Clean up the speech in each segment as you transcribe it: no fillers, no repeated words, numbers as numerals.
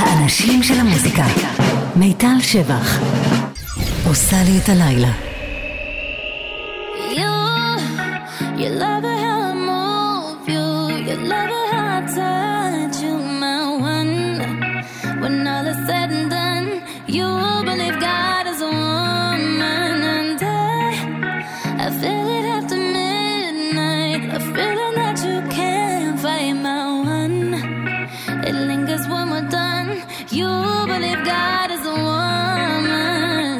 האנשים של המוזיקה. מיטל שבח עושה לי את הלילה. You love it how I move you. You love it how I touch you, my one. When all is said and done, you believe God is a woman. And I feel it after midnight, a feeling that you can't fight, my one. It lingers when we're done. You believe God is a woman.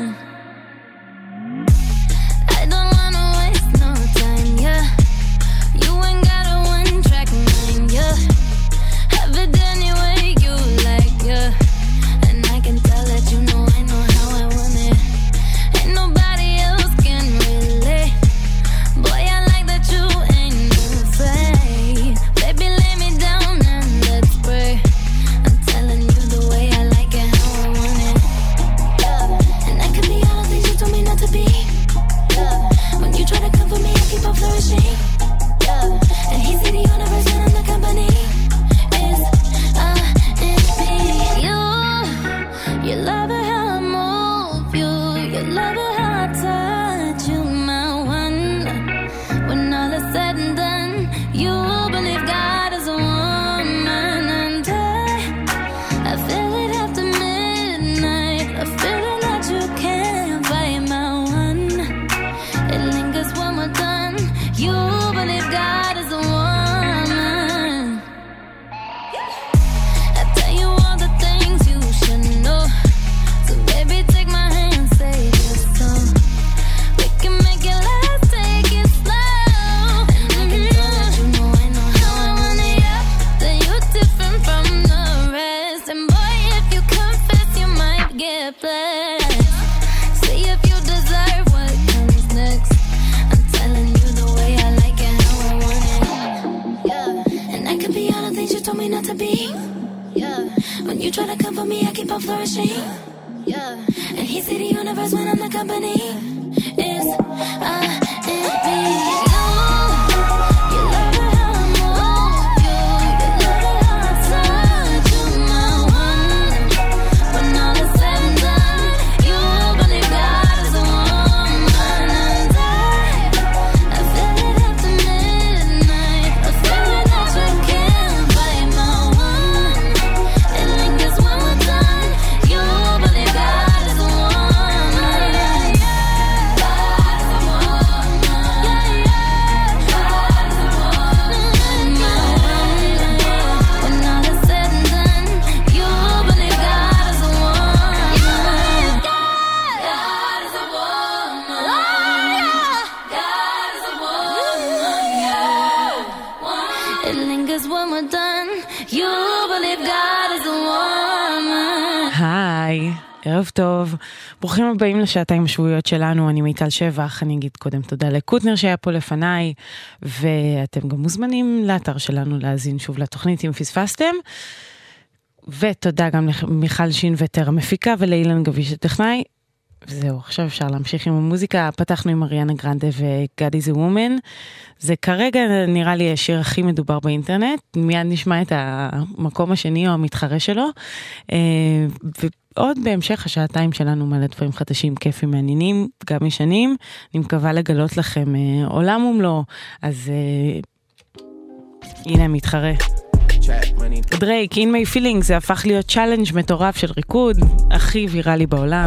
I don't wanna waste no time, yeah. You ain't got a one-track mind, yeah. Have it any way you like, yeah. And I can tell that you know I know how I want it. Ain't nobody else can relate. Boy, I like that you ain't afraid. Baby, lay me down and let's pray. I'm telling you the way I like it, how I want it, yeah. And I can be all the things you told me not to be, yeah. When you try to come for me, I keep on flourishing, yeah. And he see the universe when I'm the company. Is me. You love it how I move you. You love it how I touch you, my one. When all is said and done, you believe God is a woman. And I feel it after midnight, a feeling that you can't fight, my one. It lingers when we're done. You believe God is a woman. I tell you all the things you should know. So baby, take my hand, save your soul. We can make it last, take it slow. And I can tell that you know I know how I want it, yeah. That you're different from the rest. And boy, if you confess, you might get blessed. See if you deserve what comes next. I'm telling you the way I like it, how I want it, yeah. And I can be all the things you told me not to be, yeah. When you try to come for me, I keep on flourishing, yeah. And he see the universe when I'm the company. Is me. You love it how I move you. You love it how I touch you, my one. When all is said and done, you believe God is a woman. And I feel it after midnight, a feeling that you can't fight, my one. It lingers when we're done. You believe God is a woman. God is a woman. Yeah, yeah. God is a woman. My one. When all is said and done, you believe God is a woman. God is a woman. God is a woman. Yeah. It lingers when we're done. You believe God is a woman. היי, ערב טוב, ברוכים הבאים לשעתיים השבועיות שלנו. אני מיטל שבח. אני אגיד קודם תודה לקוטנר שהיה פה לפניי, ואתם גם מוזמנים לאתר שלנו להזין שוב לתוכנית אם פספסתם, ותודה גם למיכל שין ותר המפיקה ולאילן גביש הטכנאי. וזהו, עכשיו אפשר להמשיך עם המוזיקה. פתחנו עם אריאנה גרנדה ו-God is a Woman. זה כרגע נראה לי השיר הכי מדובר באינטרנט. מיד נשמע את המקום השני או המתחרה שלו. ועוד בהמשך השעתיים שלנו מלא דברים חדשים, כיפים, מעניינים, גם ישנים. אני מקווה לגלות לכם עולם ומלואו. אז הנה המתחרה. דרייק, In My Feelings, זה הפך להיות צ'אלנג' מטורף של ריקוד, הכי ויראלי בעולם.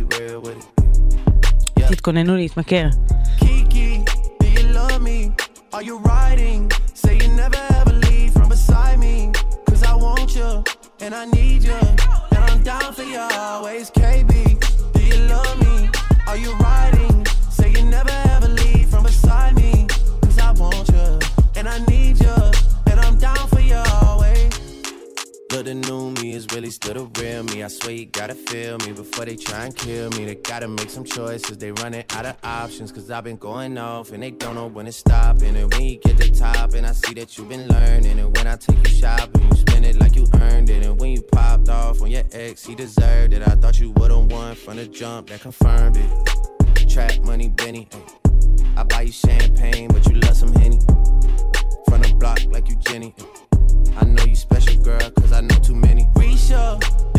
תתכוננו להתמכר. Kiki, do you love me? Are you riding? Say you never ever leave from beside me. Cause I want you, and I need you, and I'm down for you always. KB, do you love me? Are you riding? Say you never ever leave from beside me. Cause I want you, and I need you, and I'm down for you always. Look, the new me is really still the real me. I swear you gotta feel me before they try and kill me. They gotta make some choices, they running out of options. Cause I've been going off and they don't know when to stop. And when you get to the top and I see that you've been learning. And when I take you shopping, you spend it like you earned it. And when you popped off on your ex, he deserved it. I thought you would've won from the jump, that confirmed it. Trap money, Benny, ay. I buy you champagne, but you love some Henny. From the block like you Jenny, ay. I know you special, girl, cause I know too many. Risha,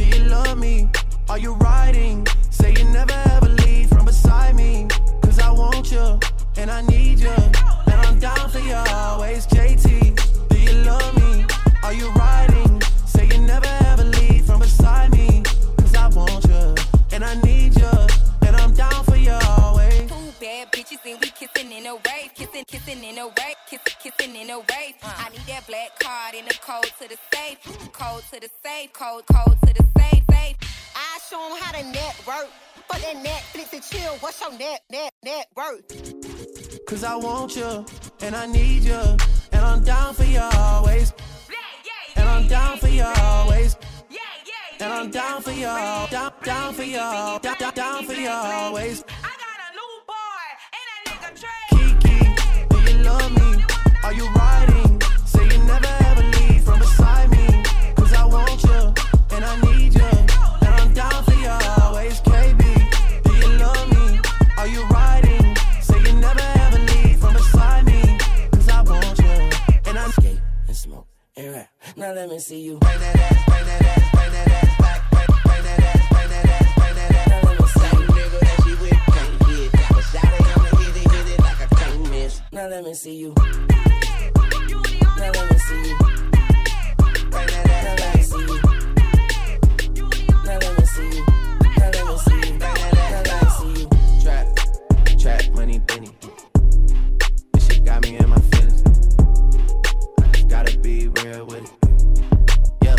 code to the safe, code to the safe. I show them how to network. For that Netflix and chill, what's your net worth? Cause I want you, and I need you, and I'm down for you always. And I'm down for you always. And I'm down for you, down for you, down for you always. I got a new boy, and that nigga Trey. Kiki, do you love me? Are you riding? Say you never ever leave from beside me. Cause I want you, and I need you, and I'm down for you always. KB, do you love me? Are you riding? Say you never ever leave from beside me. Cause I want you, and I'm skate and smoke and rap. Now let me see you bring that ass, bring that ass, bring that ass back, bring that ass, bring that ass, bring that ass. Now let me see you, nigga that she with can't hit. Got a shot at him and hit it like I can't miss. Now let me see you. Now let me see you. Bring that ass, now let me see you. Now let me see you. Now let me see you. Bring that ass, now let me see you. Trap money, penny. This shit got me in my feelings. I just gotta be real with it. Yep.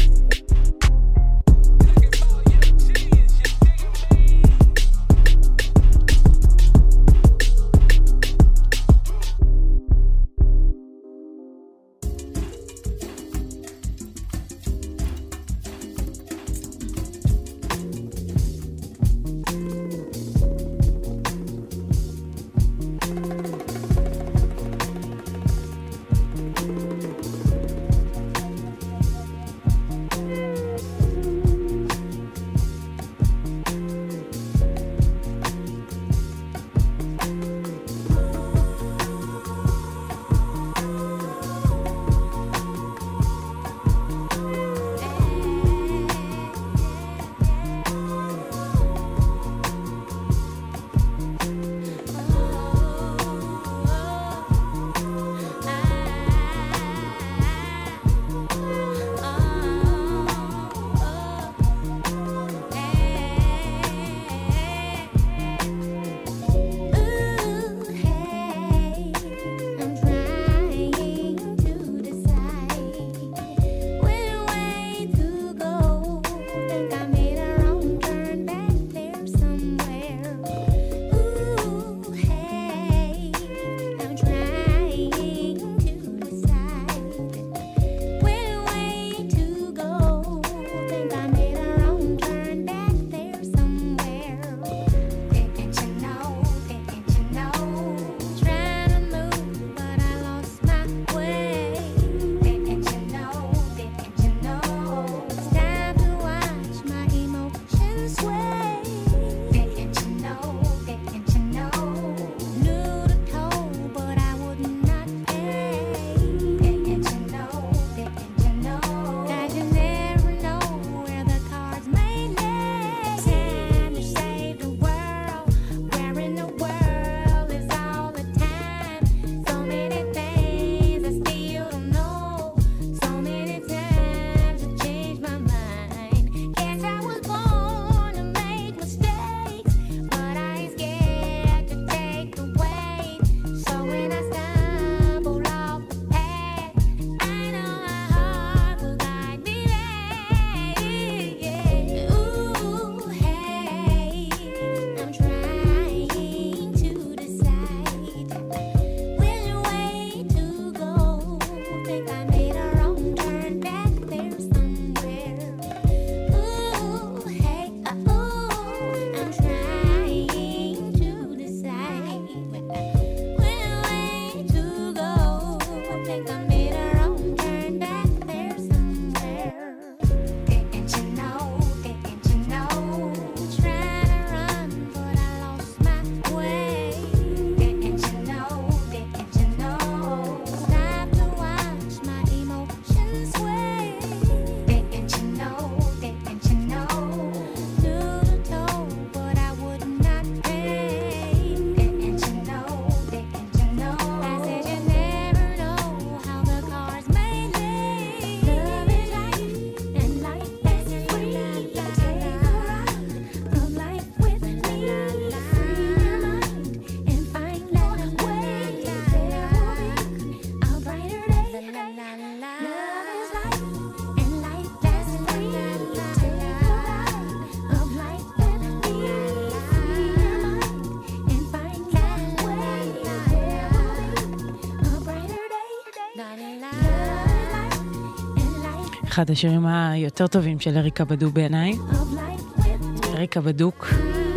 אחד השירים היותר טובים של אריקה בדו בעיניי. אריקה בדוק.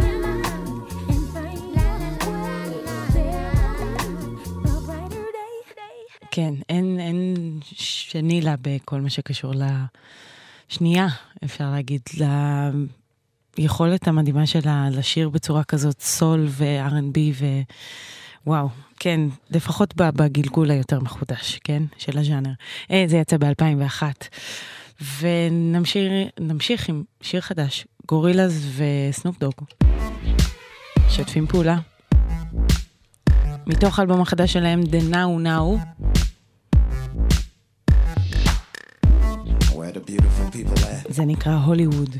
כן, אין שני לה בכל מה שקשור לשנייה, אפשר להגיד, ליכולת המדהימה שלה לשיר בצורה כזאת סול ו-R&B וואו, כן, לפחות בגלגול היותר מחודש, כן, של הז'אנר. זה יצא ב-2001. ונמשיך עם שיר חדש, גורילאז וסנופ דוג. שתפים פעולה. מתוך האלבום החדש שלהם, The Now Now. Where the beautiful people at? זה נקרא הוליווד.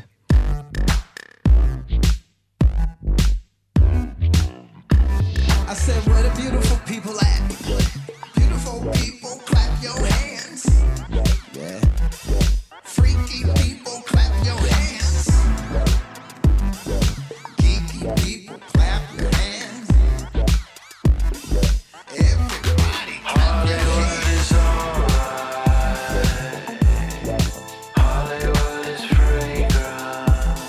I said, where the beautiful people at? Beautiful people, clap your hands. Yeah. Freaky people, clap your hands. Geeky people, clap your hands. Everybody, clap your hands. Hollywood is alright. Hollywood is fragrant.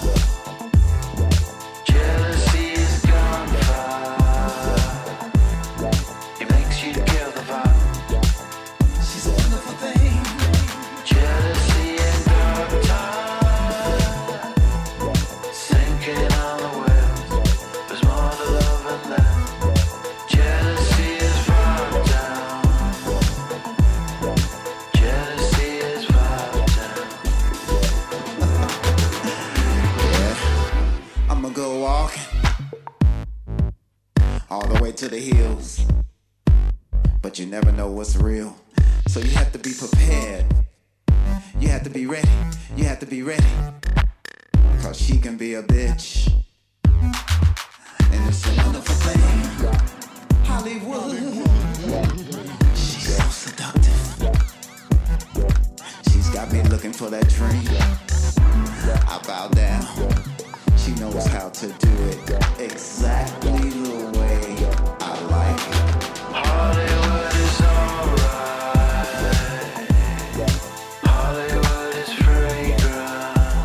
Jealousy is gunfire. It makes you kill the vibe. She's a wonderful thing. Jealousy and dark time. Sinking on the wells. There's more to love than that. Jealousy is far down. Jealousy is far down. Yeah, I'ma go walking all the way to the hills, but you never know what's real, so you have to be prepared. You have to be ready. You have to be ready, 'cause she can be a bitch, and it's a wonderful thing. Hollywood, she's so seductive. She's got me looking for that dream. I bow down. She knows how to do it exactly the way I like it. Hollywood is alright. Hollywood is fragrant.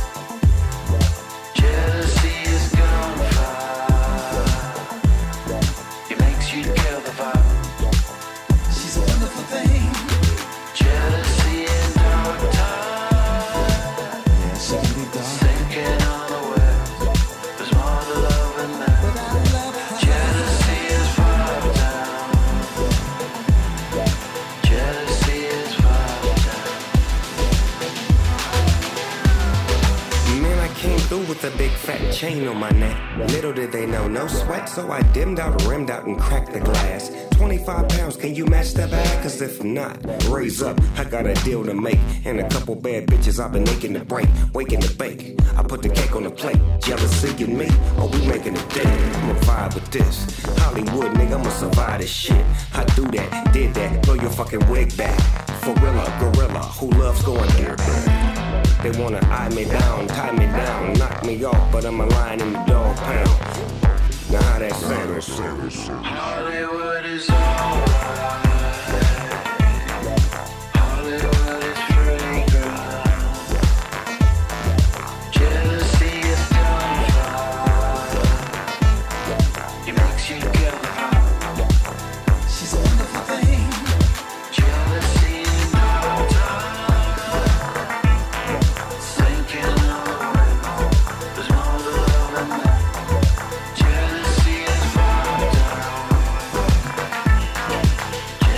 Jealousy is gunfire. It makes you kill the vibe. She's a wonderful thing. Jealousy and dark time. Yeah, she can be dark. Sinking on the wells. There's more to love than that. Jealousy is far down. Jealousy is far down. Man, I came through with a big fat chain on my neck. Little did they know, no sweat, so I dimmed out, rimmed out, and cracked the glass. 25 pounds, can you match that bag? 'Cause if not, raise up, I got a deal to make. And a couple bad bitches I've been aching to break, waking to bake. I put the cake on the plate, jealousy in me, or we making a day. I'ma vibe with this, Hollywood nigga, I'ma survive this shit. I do that, did that, throw your fucking wig back. Gorilla, gorilla, who loves going there? They wanna eye me down, tie me down, knock me off, but I'm a lion in the dog pound. Now how that sound? Hollywood is alright. Hollywood is fragrant. Jealousy is gunfire. It makes you kill the vibe. She's a wonderful thing. Jealousy and dark time. Sinking on the wells. There's more to love than that. Jealousy is far down.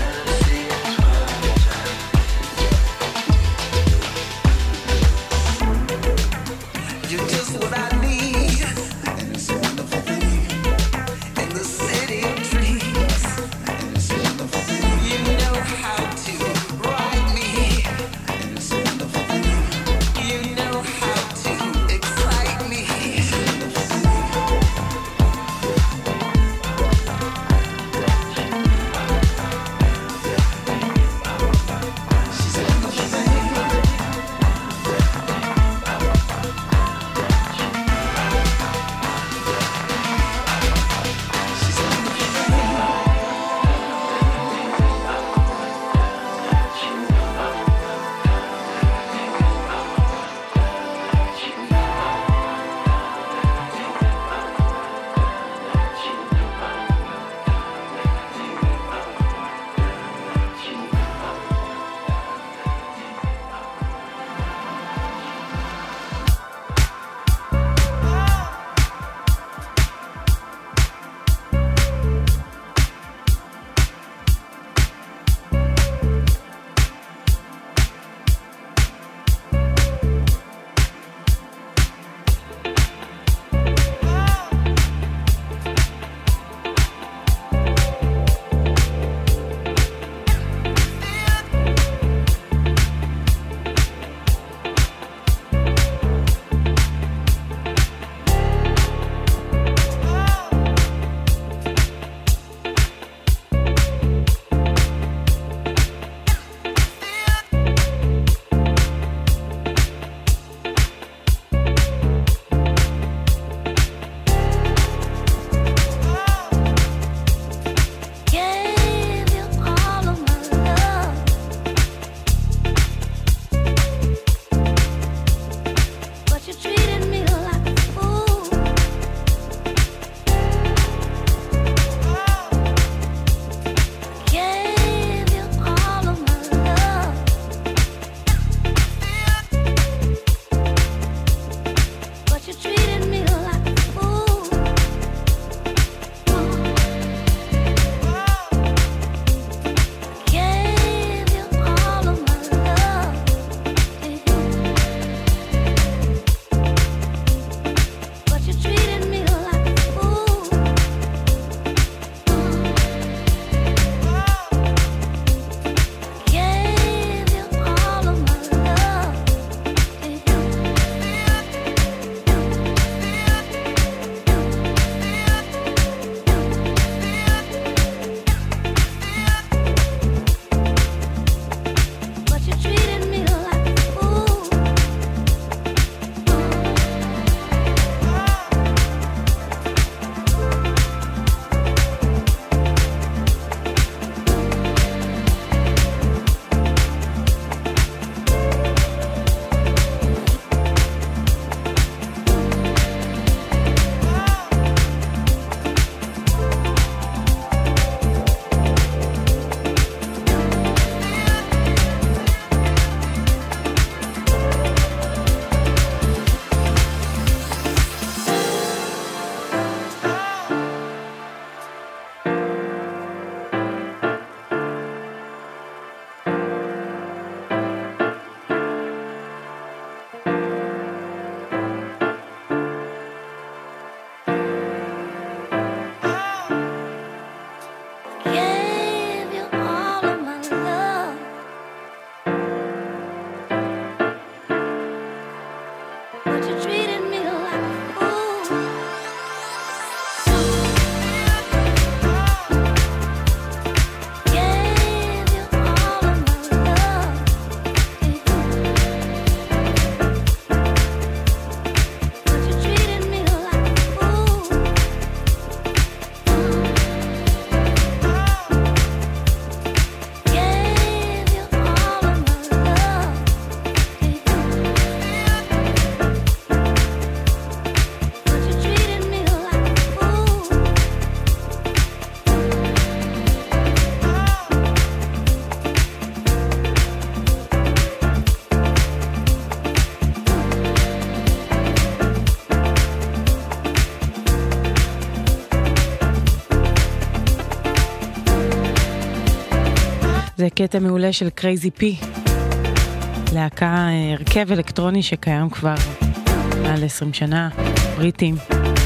זה קטע מעולה של קרייזי פי, להקה הרכב אלקטרוני שקיים כבר מעל 20 שנה, בריטים.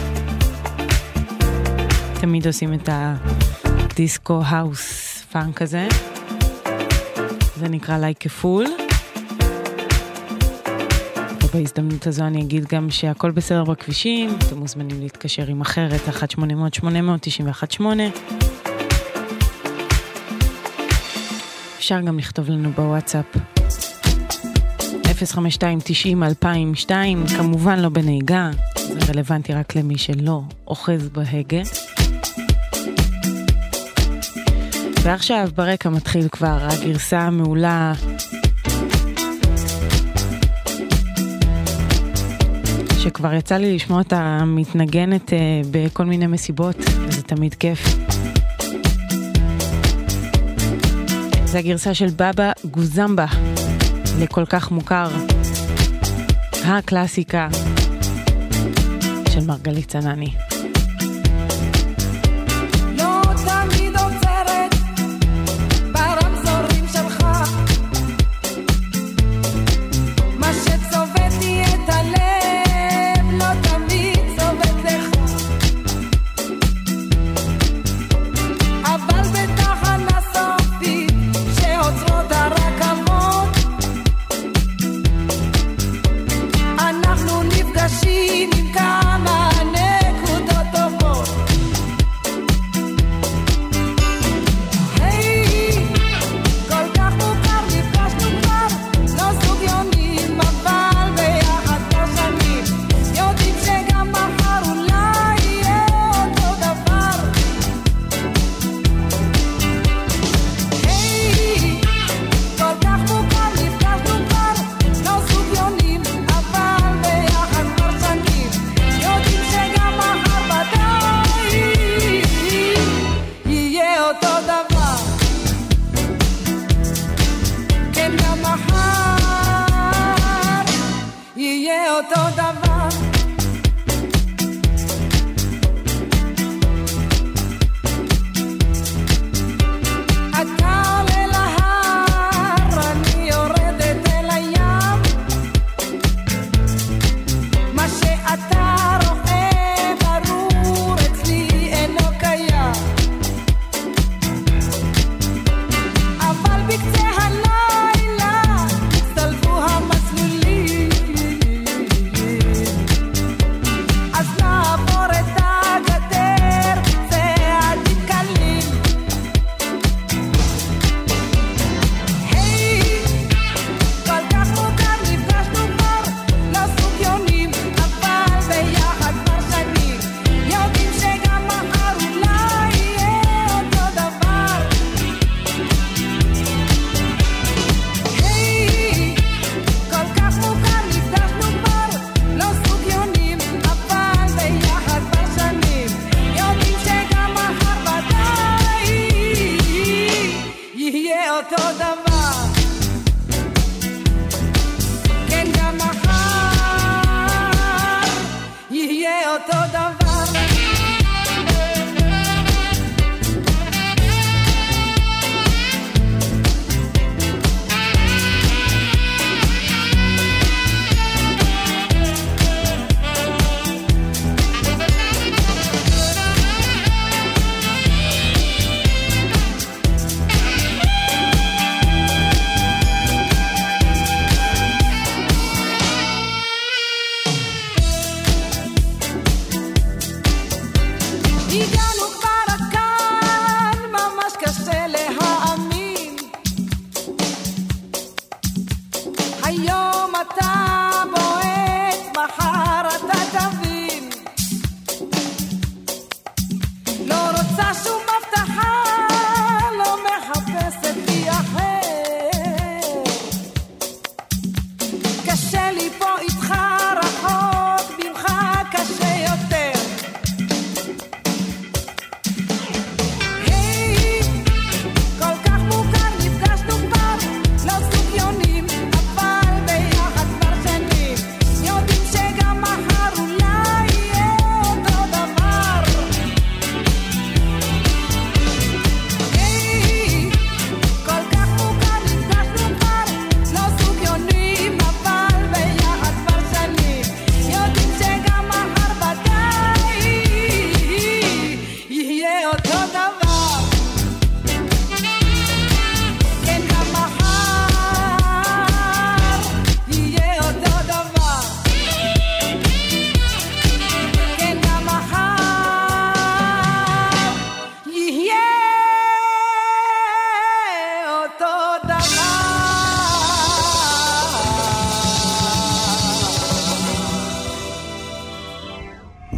תמיד עושים את הדיסקו האוס פאנק הזה. זה נקרא Like a Fool. ובהזדמנות הזו אני אגיד גם שהכל בסדר בכבישים, אתם מוזמנים להתקשר עם אחרת, 1-800-800-918. אפשר גם לכתוב לנו בוואטסאפ 052-90-2002, כמובן לא בנהיגה, זה רלוונטי רק למי שלא אוחז בהגה. ועכשיו ברקע מתחיל כבר הגרסה המעולה שכבר יצא לי לשמוע אותה מתנגנת בכל מיני מסיבות, וזה תמיד כיף. זה הגרסה של בבא גוזמבה, לכל כך מוכר, הקלאסיקה של מרגלית צנני.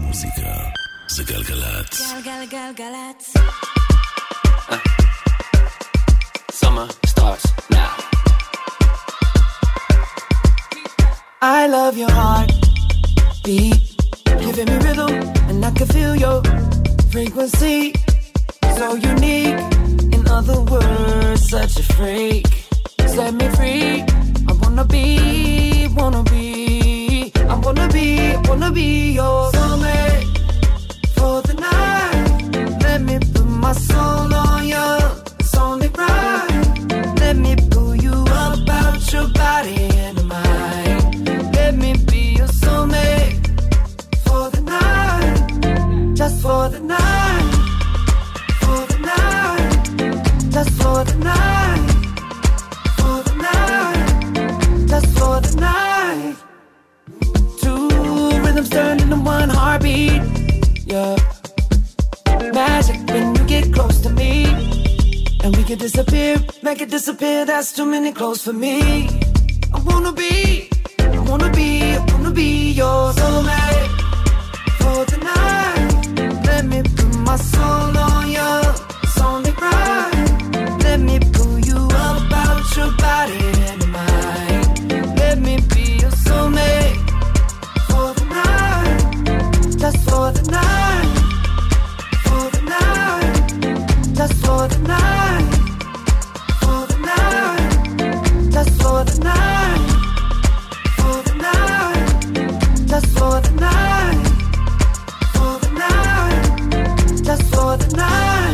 המוזיקה זה גלגלצ. גלגלגלגלצ. Summer starts now. I love your heart beat, giving me rhythm, and I can feel your frequency. So unique, in other words, such a freak. Set me free. I wanna be your soulmate for the night. Let me put my soul on you. It's only right. Let me pull you up out your body and mind. Let me be your soulmate for the night, just for the night, for the night, just for the night, for the night, just for the night. Two rhythms turn into one heartbeat. Yeah, magic when you get close to me, and we can disappear, make it disappear. That's too many clothes for me. I wanna be your soulmate for the night. Let me put my soul on you. It's only right. Let me pull you up out your body and mind. Let me be your soulmate for the night, just for the night, for the night, just for the night, for the night, just for the night, for the night, just for the night, for the night, just for the night.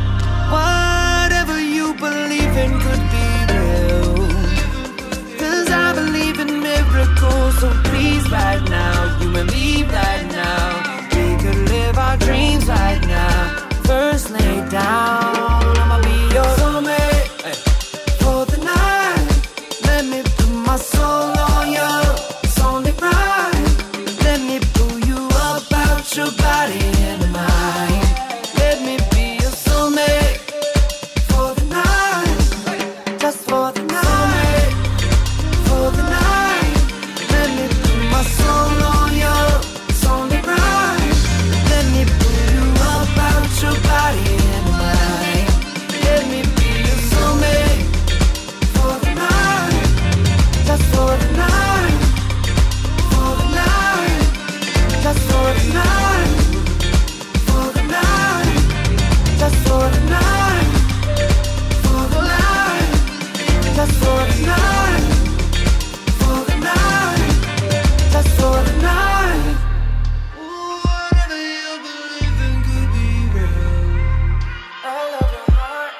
Whatever you believe in could be real, 'cause I believe in miracles. So please right now, you and me right now, we could live our dreams right now. First lay down, I'ma be your soulmate for the night. Let me put my soul on you. It's only right. Let me pull you up out your body and mind. Let me be your soulmate for the night, just for the night, for the night. Let me put my soul on you. It's only right. Let me pull you up out your body and mind. Let me be your soulmate for the night, just for the night, for the night, just for the night, for the night, just for the night, for the night, just for the night, for the night, just for the night. Whatever you believe in could be real. I love your heart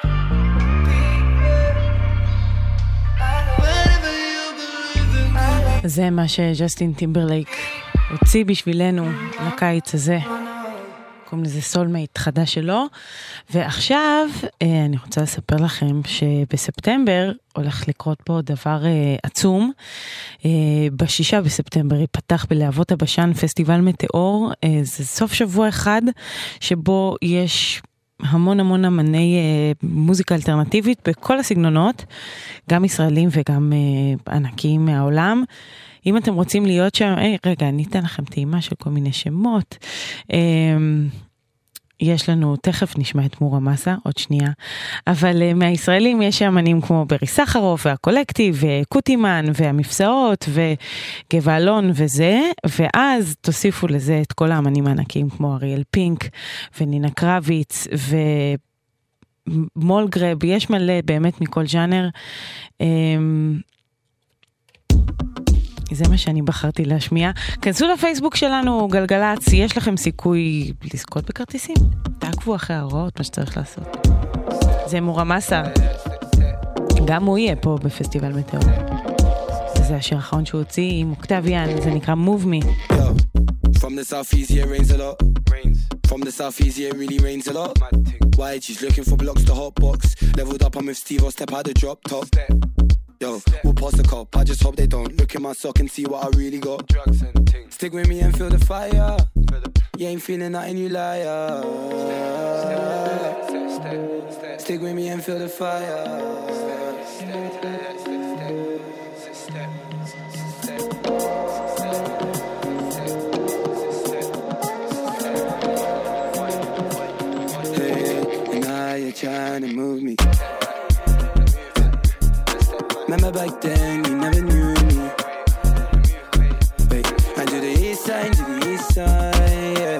beat. Whatever you believe in could be. זה מה שג'סטין טימברלייק הוציא בשבילנו לקיץ הזה. קוראים לזה סולמייט חדש שלו. ועכשיו אני רוצה לספר לכם שבספטמבר הולך לקרות פה דבר עצום. ב6 בספטמבר ייפתח בלהבות הבשן פסטיבל מטאור. זה סוף שבוע אחד שבו יש המון אמני מוזיקה אלטרנטיבית בכל הסגנונות, גם ישראלים וגם ענקיים מהעולם. אם אתם רוצים להיות שם, רגע, אני אתן לכם טעימה של כל מיני שמות. יש לנו, תכף נשמע את מורה מסה, עוד שנייה, אבל מהישראלים יש אמנים כמו ברי סחרוף, והקולקטיב, וקוטימן, והמפסעות, וגבע אלון וזה, ואז תוסיפו לזה את כל האמנים הענקיים כמו אריאל פינק, ונינה קרביץ, ומולגרב, יש מלא באמת מכל ז'אנר. זה מה שאני בחרתי להשמיע. כנסו לפייסבוק שלנו, גלגלצ, יש לכם סיכוי לזכות בכרטיסים. תעקבו אחרי ההוראות, מה שצריך לעשות. זה מורה מסה. גם הוא יהיה פה בפסטיבל מטאור. זה השיר האחרון שהוא הוציא עם אוקטביאן, זה נקרא Move Me. From the southeast, yeah, rains a lot. From the southeast, yeah, it really rains a lot. Why she's looking for blocks to hot box. Leveled up, I'm with Steve, I'll step out the drop top. Yo, we'll pass the cop, I just hope they don't look in my sock and see what I really got. Drugs and things. Stick with me and feel the fire. You ain't feeling nothing, you liar. Stick with me and feel the fire. side to the east side, yeah.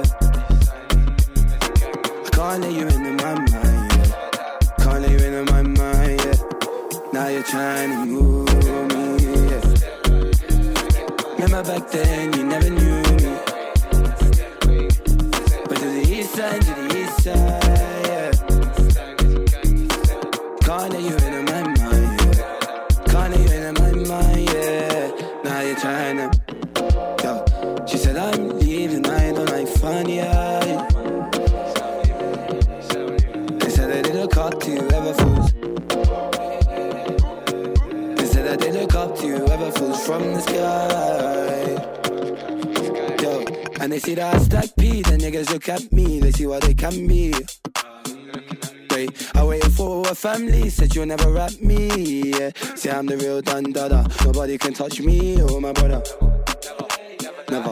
I can't let you into my mind, yeah. Can't let you into my mind, yeah. Now you're trying to move me, yeah. Remember back then you never knew me. But to the east side, yeah. Can't let you into my mind, yeah. Can't let you into my mind, yeah. Now you're trying to, yo. She said I'm leaving, I don't like funny eyes. They said I did look up to you, ever fools. They said I did look up to you, ever fools from the sky. Yo, and they see that I stack P, the niggas look at me, they see what they can be. Wait, I waited for a family, said you'll never rap me, yeah. See I'm the real Don Dada, nobody can touch me, oh my brother. Never.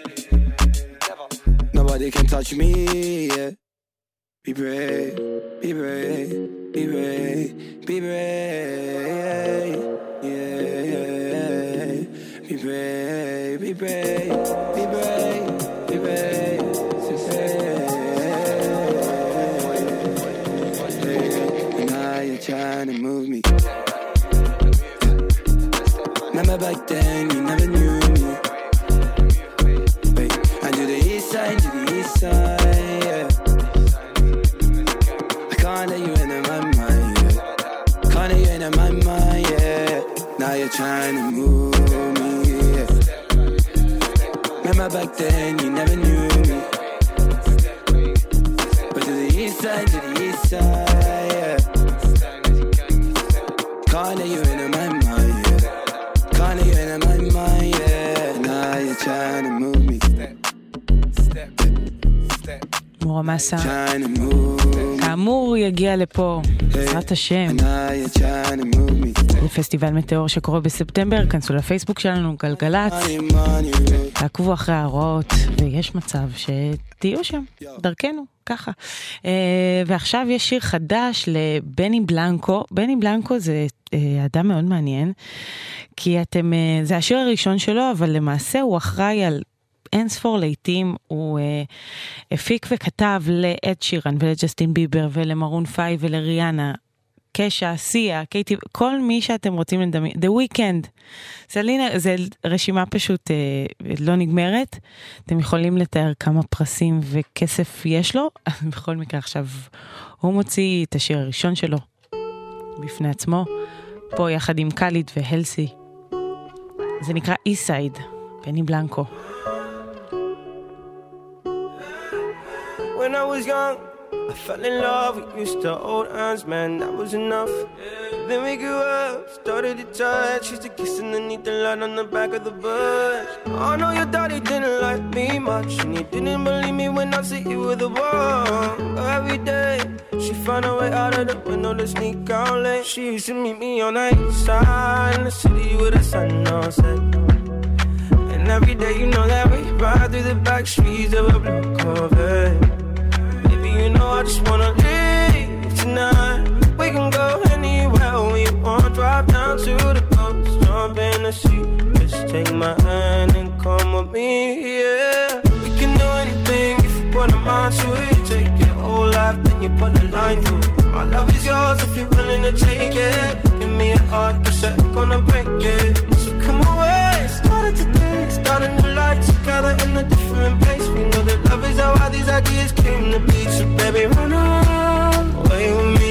Nobody can touch me, yeah. Be brave, be brave, be brave, be brave, yeah. Be brave, be brave, be brave, be brave, and now you're trying to move me. Remember back then you never knew me. To the east side, yeah. I can't let you into my mind, yeah. Can't let you into my mind, yeah. Now you're trying to move me, yeah. Remember back then you never knew me. But to the east side, yeah. Can't let you into my mind, yeah. Can't let you into my mind, yeah. Now you're trying to move me. מורה מסה כאמור יגיע לפה בעזרת השם לפסטיבל מטאור שקורה בספטמבר. כנסו לפייסבוק שלנו גלגלץ, תעקבו אחרי ההוראות ויש מצב שתהיו שם דרכנו ככה. ועכשיו יש שיר חדש לבני בלנקו. בני בלנקו זה אדם מאוד מעניין כי זה השיר הראשון שלו, אבל למעשה הוא אחראי על אין ספור לעתים. הוא הפיק וכתב לאד שירן ולג'סטין ביבר ולמרון 5 ולריאנה, קשה, סיה, קייטי, כל מי שאתם רוצים לדמיין, The Weeknd, זה רשימה פשוט לא נגמרת. אתם יכולים לתאר כמה פרסים וכסף יש לו. בכל מקרה עכשיו הוא מוציא את השיר הראשון שלו בפני עצמו, פה יחד עם קליד והלסי. זה נקרא Eastside, בני בלנקו. When I was young, I fell in love with used to old hands, man, that was enough. Then we grew up, started to touch, used to kiss underneath the light on the back of the bus. I know your daddy didn't like me much, and he didn't believe me when I said you were the one. But every day, she found a way out of the window to sneak out late. She used to meet me on the east side in the city with the sun on set. And every day, you know that we ride through the back streets of a blue Corvette. You know I just wanna leave tonight. We can go anywhere we want. Drive down to the coast, jump in the sea. Just take my hand and come with me, yeah. We can do anything if you put a mind to it. Take your whole life, then you put a line through it. My love is yours if you're willing to take it. Give me a heart, 'cause I'm gonna break it. So come away, started today, starting new life together in a different place. We know that love is how all these ideas came to be. So baby, run away with me.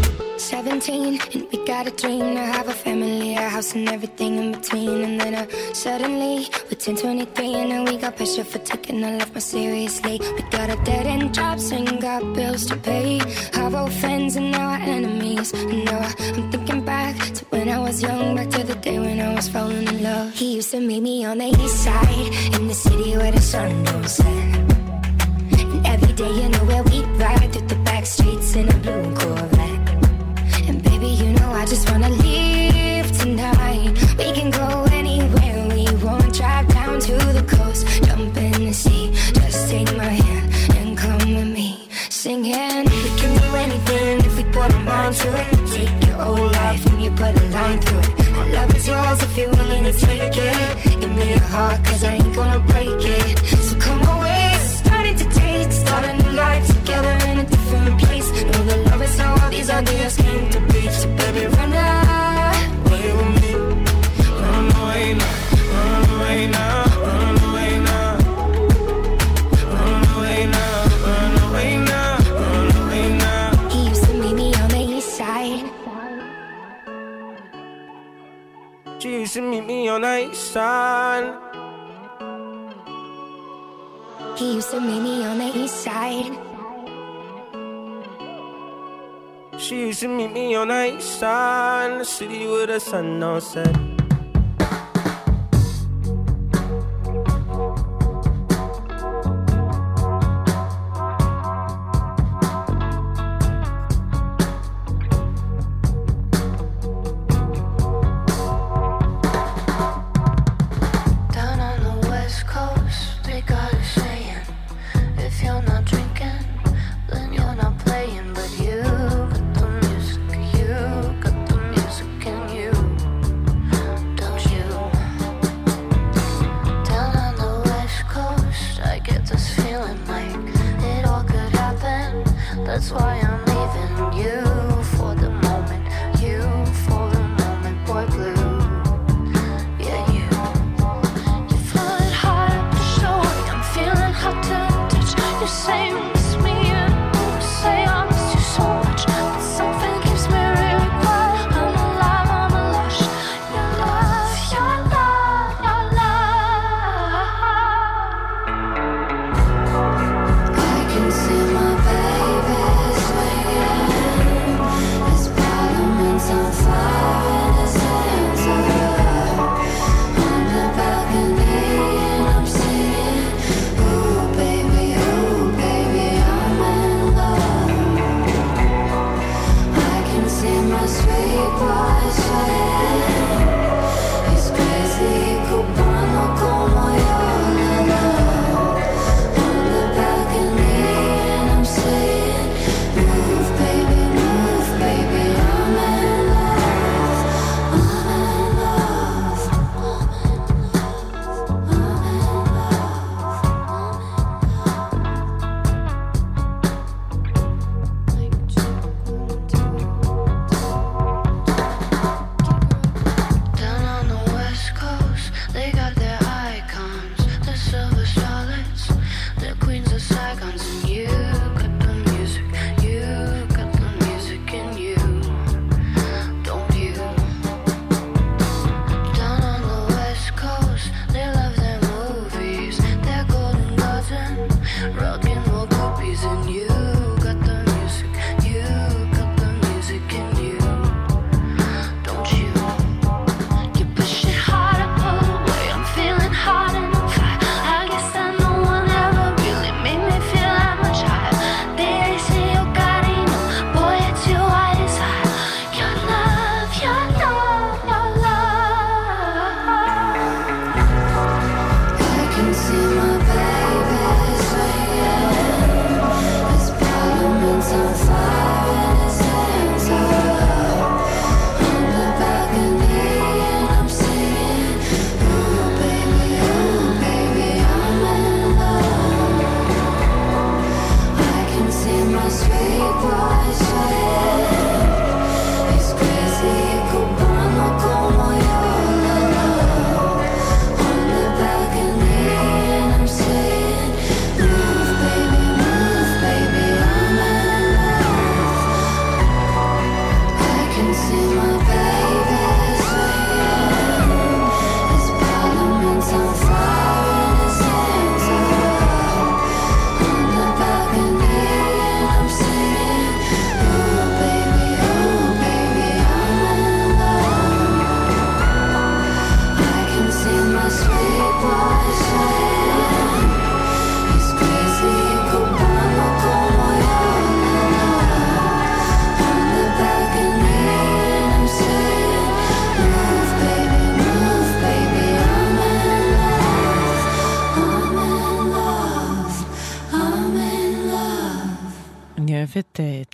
17 and we got a dream to have a family, a house and everything in between. And then suddenly we're 10, 23 and now we got pressure for taking our life more seriously. We got a dead end jobs and got bills to pay. Our old friends and now our enemies. And now I'm thinking back to when I was young, back to the day when I was falling in love. He used to meet me on the east side in the city where the sun don't set. And every day you know where we ride through the back streets in a blue Corvette. And baby, you know I just wanna leave tonight. We can go anywhere we want. Drive down to the coast, jump in the sea. Just take my hand and come with me, singing. We can do anything if we put a mind to it. Take your whole life and you put a line through it. My love is yours if you're willing to take it. Give me your heart, 'cause I ain't gonna break it. on the east side. He used to meet me on the east side. She used to meet me on the east side, in the city where the sun don't set. That's why I'm leaving you for the moment, you for the moment, boy blue. Yeah, you flood hard to show me I'm feeling hot to touch. You say you miss me, you say I miss you so much, but something keeps me really quiet. I'm alive, I'm a lush. Your love, your love, your love. I can see my baby. On fire and his hands are on the balcony and I'm singing, ooh baby, I'm in love. I can see my sweet boy sweating. He's crazy, cubano como yo, la. On the balcony and I'm saying, move baby, I'm in את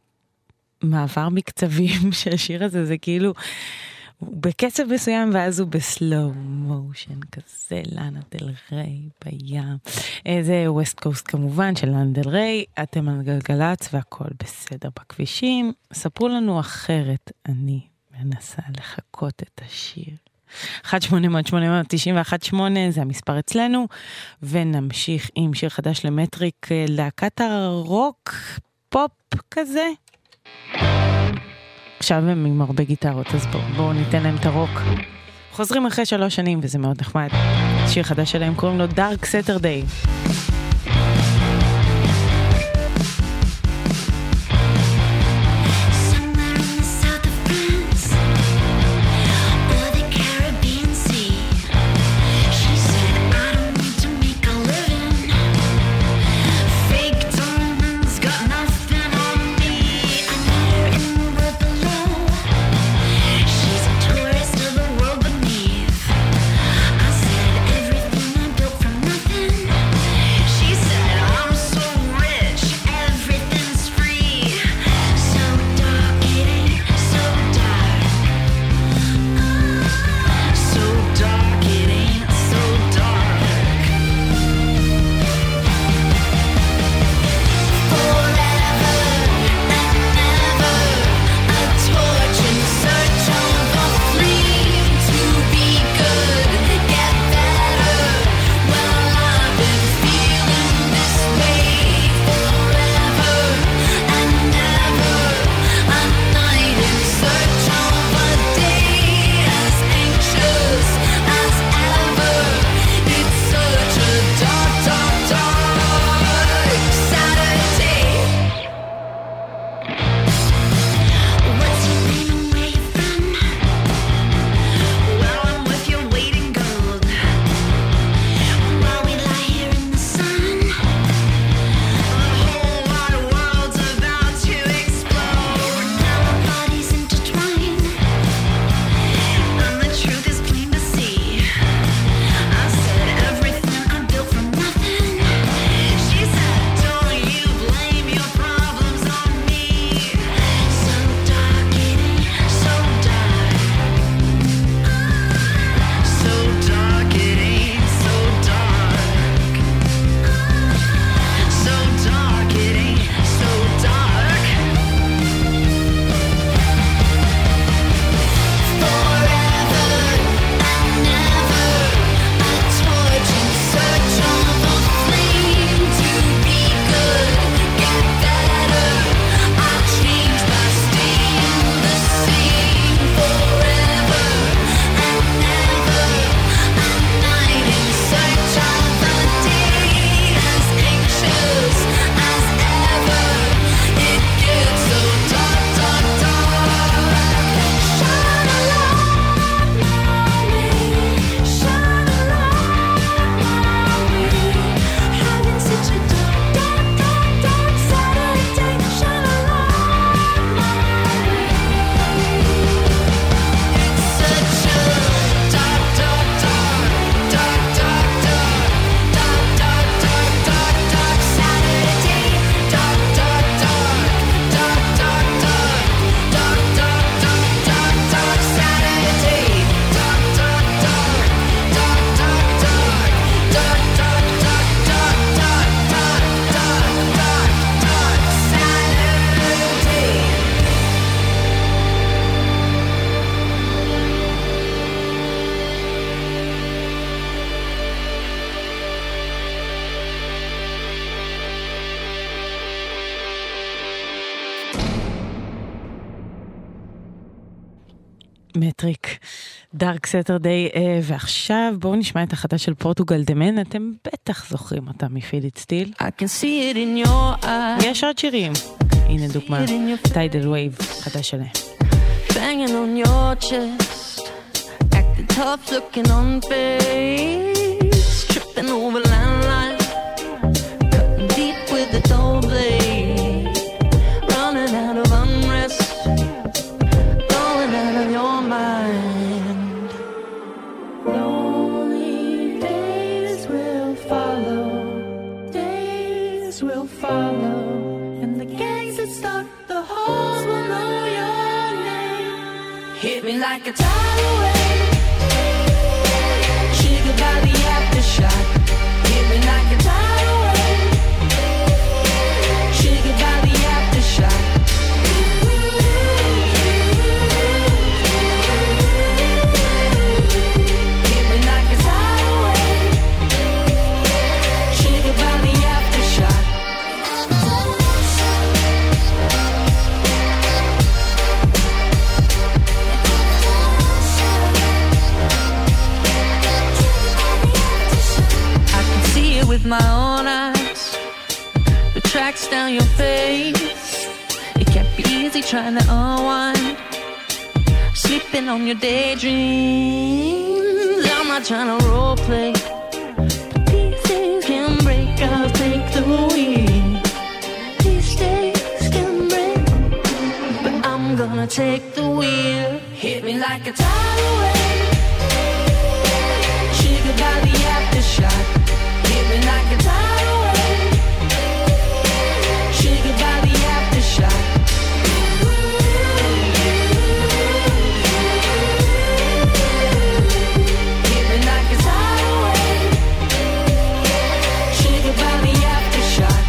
המעבר מקצבים של השיר הזה, זה כאילו הוא בקצב מסוים ואז הוא בסלואו מושן כזה, לאנה דל ריי בים. זה ווסט קוסט כמובן של לאנה דל ריי. אתם על גלגלצ והכל בסדר בכבישים. ספרו לנו אחרת, אני מנסה לחכות את השיר. 1-800-891-8 זה המספר אצלנו, ונמשיך עם שיר חדש למטריק, להקת הרוק פופ כזה. עכשיו הם עם הרבה גיטרות, אז בואו ניתן להם את הרוק. חוזרים אחרי 3 שנים וזה מאוד נחמד. שיר חדש שלהם קוראים לו Dark Saturday. מטריק, דארק סטרדיי, ועכשיו בואו נשמע את החדש של פורטוגל דה מן, אתם בטח זוכרים אותה מפיליט סטיל. יש עוד שירים, הנה דוגמה, טיידל וייב, חדש שלהם. Banging on your chest, acting tough, looking on face, tripping over landline, cutting deep with the dull blade, running out of unrest, going out of your mind. Lonely days will follow, and the gangs that stalk the halls will know your name. Hit me like a tidal wave, triggered by the aftershock. Hit me like a tidal wave, triggered by the aftershock. Hit me like a tidal wave, triggered by the aftershock. with my own eyes. The tracks down your face. It can't be easy trying to unwind. Sleeping on your daydreams. I'm not trying to role play, but these days can break. I'll take the wheel. These days can break, but I'm gonna take the wheel. Hit me like a tidal wave. Triggered by the aftershock. Hit me like a tidal wave. Triggered by the aftershock. Hit me like a tidal wave. Triggered by the aftershock.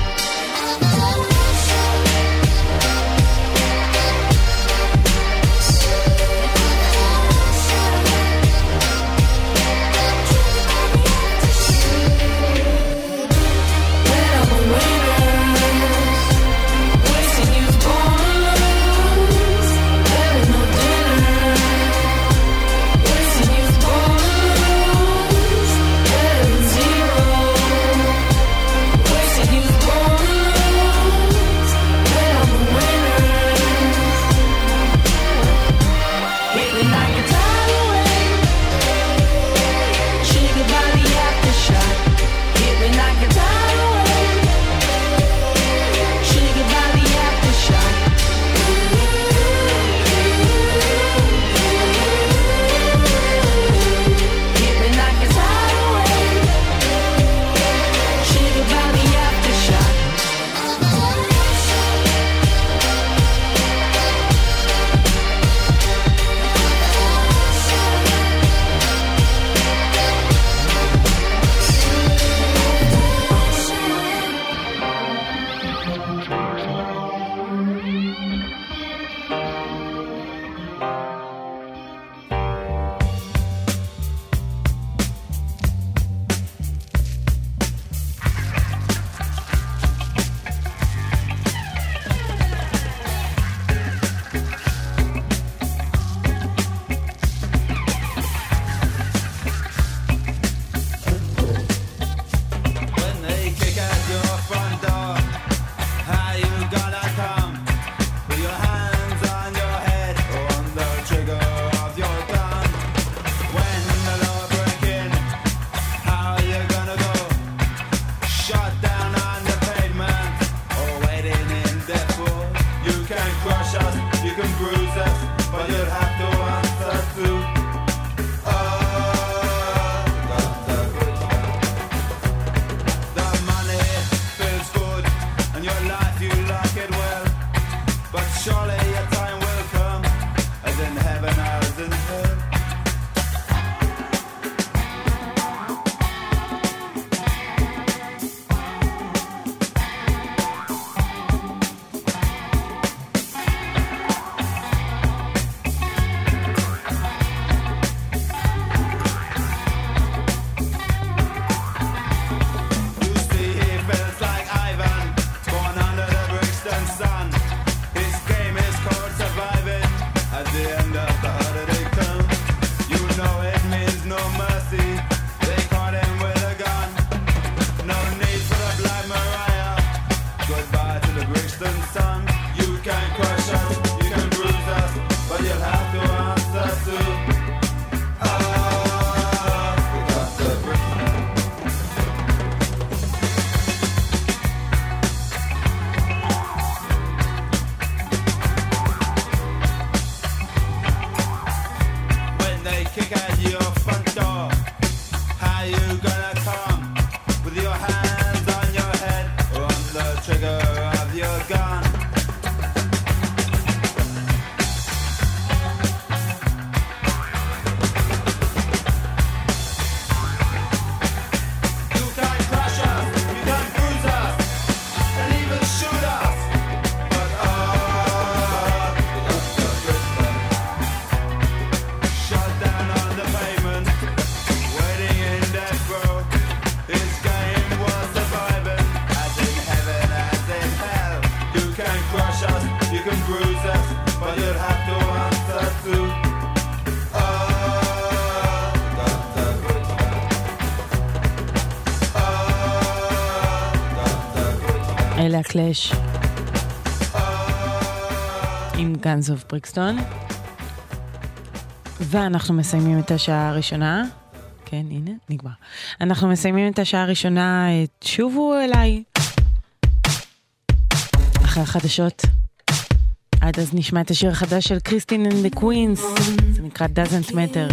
אלה הקלאש עם גאנס אוף בריקסטון, ואנחנו מסיימים את השעה הראשונה. כן, הנה, נגמר. אנחנו מסיימים את השעה הראשונה. שובו אליי אחרי החדשות. עד אז נשמע את השיר החדש של קריסטין and the Queens, זה נקרא Doesn't Matter.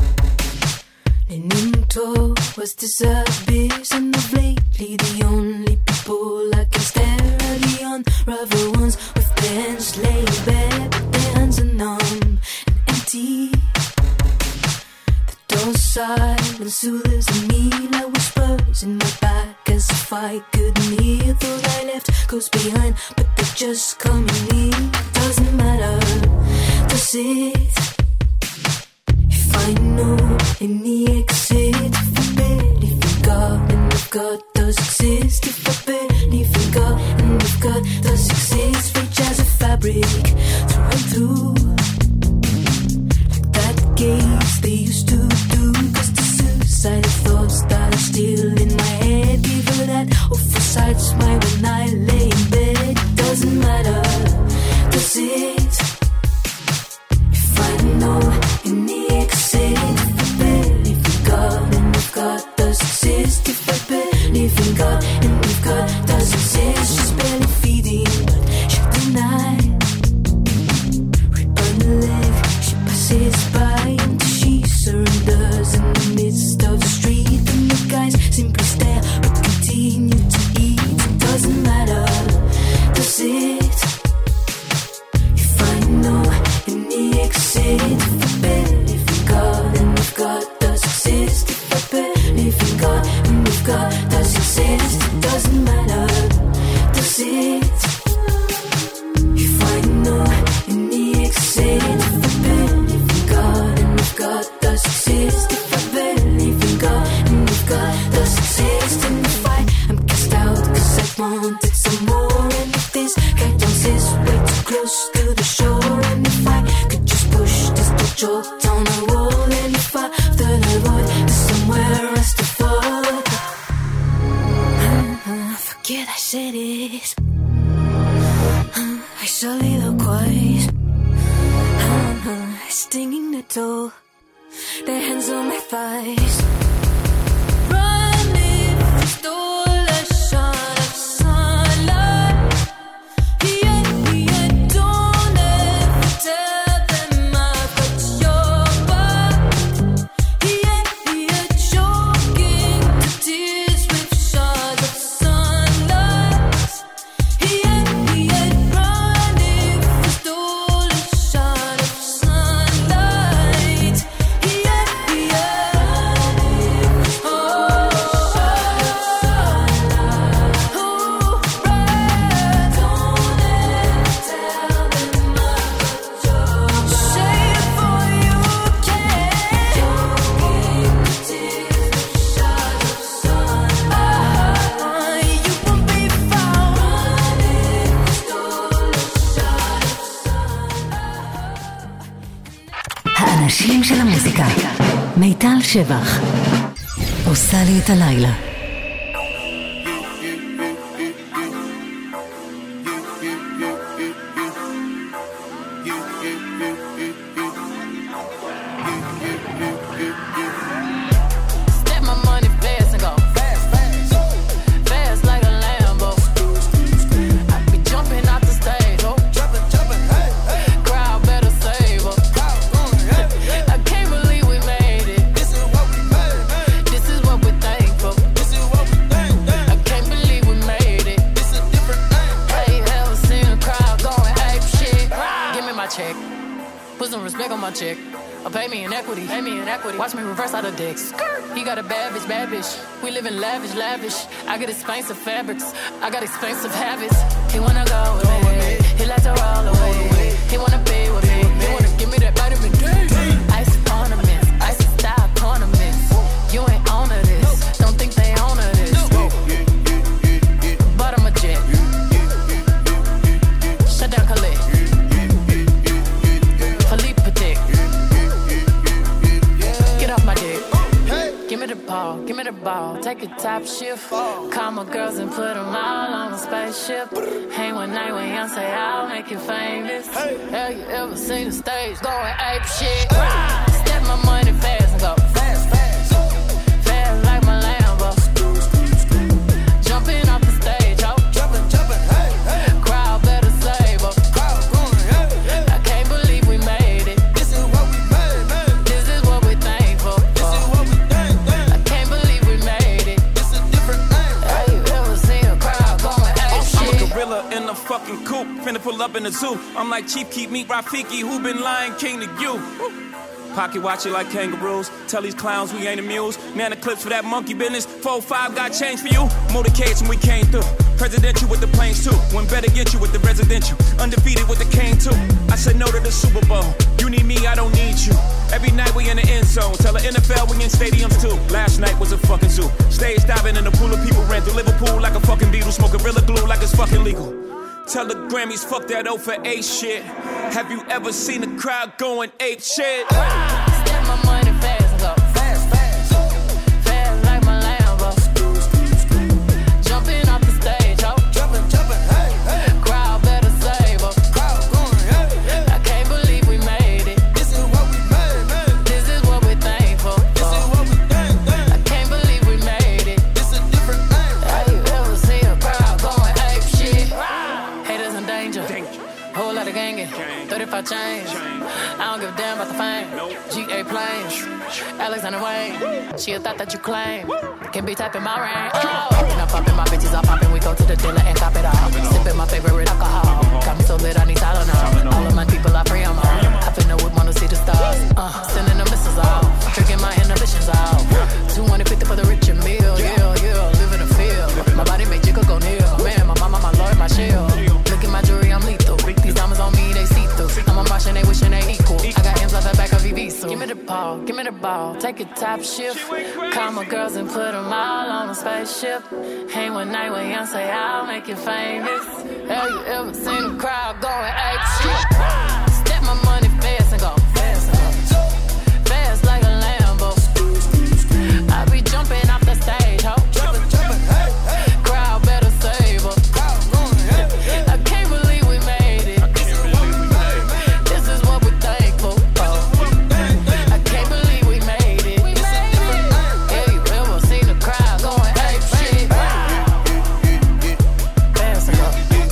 Into was disappears and of lately the only people I can stare are the unravel ones with their hands laid bare, their hands are numb and empty. The door silence soothes me like whispers in my back as if I couldn't hear. Thought I left goes behind, but they're just coming in. Doesn't matter, does it? I know in the exit, if I believe in God and if God does exist, if I believe in God and if God does exist, reach as a fabric through and through, like that gaze they used to do. Cause the suicidal thoughts that are still in my head give her that awful side smile when I lay in bed. Doesn't matter, does it? If I know in the exit, if I believe in God and if God does exist, if I believe in God and if God does exist, she's barely feeding but she'll deny. Rip on the leg, she passes by until she surrenders in the midst of the street, and the guys simply stare but continue to eat. It doesn't matter, does it? If I know in the exit, if I believe in God and if God does exist, if I believe in God and if God does exist, it doesn't matter, does it? If I know in the exit, if I believe in God and if God does exist, if I believe in God and if God does exist, and if I am cast out cause I wanted some more, and if this guy turns his way too close to the shore, and if I could just push this joke down the wall, and if I thought I would, there's somewhere else to fall. Forget I said it. I soliloquize. Stinging the toe, their hands on my thighs. Running, stole a shot of sunlight. Don't ever tell them I've got your back. Choking the tears with shards of sunlight. Running, stole a shot of sunlight. האנשים של המוזיקה. מיטל שבח עושה לי את הלילה. Step my money fast and go fast, fast, fast like a Lambo. I be jumping out the stage, oh, jumping, hey, hey. Crowd better save her. I can't believe we made it. This is what we made. This is what we're thankful. This is what we think. I can't believe we made it. This is a different thing. Hey, ever seen a crowd going ape shit? Give me my check. Put some respect on my check. Pay me in equity. Pay me in equity. Watch me reverse out of dicks. He got a bad bitch, bad bitch. We live in lavish, lavish. I got expensive fabrics. I got expensive habits. He wanna go with me. He like to roll away. He wanna be with me. He wanna give me that vitamin D. Ice ornaments, ice style ornaments. You ain't on to this. Don't think they own to this. But I'm a jet. Shut down Khalid. Philippe Patek. Get off my dick. Give me the ball, give me the ball. Take take it top shift. Call my girls and put them all on a spaceship. Hang one night when young say I'll make you famous. Have you ever seen the stage going ape shit? Step my money fast and go fast, fast, fast like my Lambo. Jumping off the stage, ho. Jumping, jumping, hey, hey. Crowd better save up. Crowd going, hey, hey. I can't believe we made it. This is what we made, man. This is what we thankful for. This is what we thank. I can't believe we made it. This is a different thing. Have you ever seen a crowd going ape shit? I'm a gorilla in a fucking coop, finna pull up in the zoo. I'm like Chief Keef, meet Rafiki, who been Lion King to you. Pocket watch it like kangaroos. Tell these clowns we ain't amused. Man, the clips for that monkey business. 4-5 got change for you. Motorcades and we came through. Presidential with the planes too. When better get you with the residential. Undefeated with the cane too. I said no to the Super Bowl. You need me, I don't need you. Every night we in the end zone. Tell the NFL we in stadiums too. Last night was a fucking zoo. Stage diving in a pool of people. Ran through Liverpool like a fucking Beatle. Smoke Gorilla Glue like it's fucking legal. Tell the Grammys, fuck that O for A shit. Have you ever seen a crowd going ape shit? Step my money fast and go fast, fast, fast like my Lambo. Jumping off the stage, ho. Jumping, jumping, hey, hey. Crowd better save up. Crowd going, hey, hey. I can't believe we made it. This is what we made, man. This is what we thankful for. This is what we thank. I can't believe we made it. This is a different thing. Have you ever seen a crowd going ape shit? Haters in danger. Whole lot of gangin'. 35 chains. I don't give a damn about the fame. GA planes. Alexander Wayne. She a thought that you claim. Can be typing my rain. Oh. I'm popping my bitches, I'm popping. We go to the dealer and cop it all. Sipping my favorite alcohol. Got me so lit, I need Tylenol. All of my people are free, I'm on. I finna whip, wanna see the stars. Sending the missiles off. Tricking my inhibitions off. 250 for the rich and meal. Yeah, yeah. Live in the field. My body make jiggle go near. Man, my mama, my lord, my shield. Look at my jewelry, I'm lethal. These diamonds on me, they see through. I'm a Martian, they wishing they equal. I got M's off the back of VV, so give me the ball, give me the ball. Take a top shift. Call my girls and put them all on a spaceship. Hang one night when young say I'll make you famous. Have you ever seen a crowd going ape shit? Step my money fast and go fast, fast like a Lambo. I be jumping off the stage, ho. Jumping, jumping, hey, hey. Crowd better save up. I can't believe we made it. This is what we thankful for. I can't believe we made it. Have you ever seen a crowd going ape shit? Fast and go.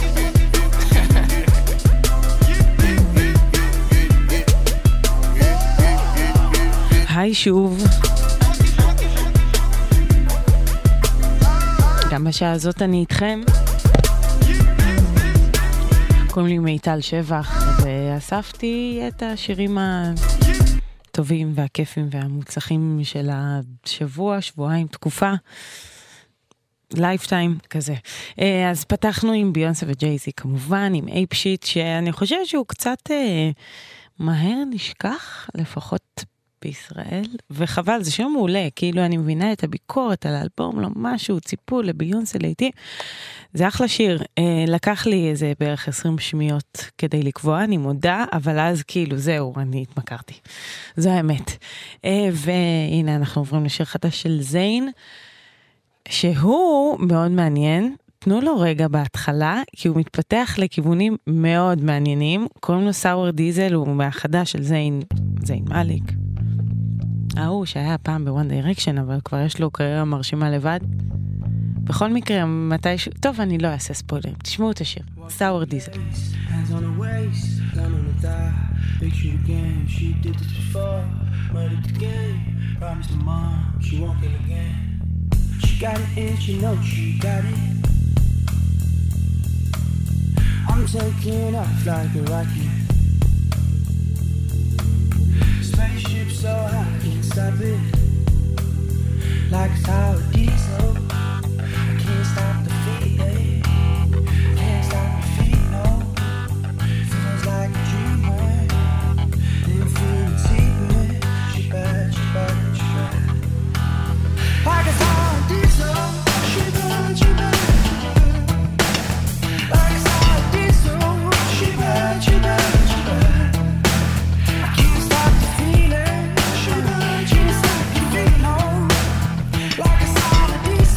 היי שוב. גם בשעה הזאת אני איתכם. קוראים לי מיטל שבח, ואספתי את השירים הטובים והכיפים והמוצלחים של השבוע, שבועיים, תקופה, לייפטיים כזה. אז פתחנו עם ביונסה וג'ייזי כמובן, עם אייפ שיט, שאני חושבת שהוא קצת מהר נשכח, לפחות בישראל, וחבל, זה שיר מעולה, כאילו אני מבינה את הביקורת על האלבום, לא משהו, ציפו לביונסה לעתים, זה אחלה שיר, לקח לי איזה בערך 20 שניות כדי לקבוע, אני מודה, אבל אז כאילו זהו, אני התמכרתי, זו האמת. והנה אנחנו עוברים לשיר חדש של זיין, שהוא מאוד מעניין, תנו לו רגע בהתחלה, כי הוא מתפתח לכיוונים מאוד מעניינים, קוראים לו סאואר דיזל, הוא מהחדש של זיין מאליק. שהיה פעם בוואן דיירקשן, אבל כבר יש לו קריירה מרשימה לבד. בכל מקרה, מתישהו... טוב, אני לא אעשה ספוילרים. תשמעו את השיר. סאואר דיזל. I'm taking off like a rocket. Spaceship so high, can't stop it. Like a Tower Diesel, I can't stop the feeling. Can't stop the feet, no. Feels like a dream, then feeling deeper. She bad, she bad, she bad. Like a Tower Diesel, she bad, she bad. Like a Tower Diesel, she bad, she bad, she bad. Like a solid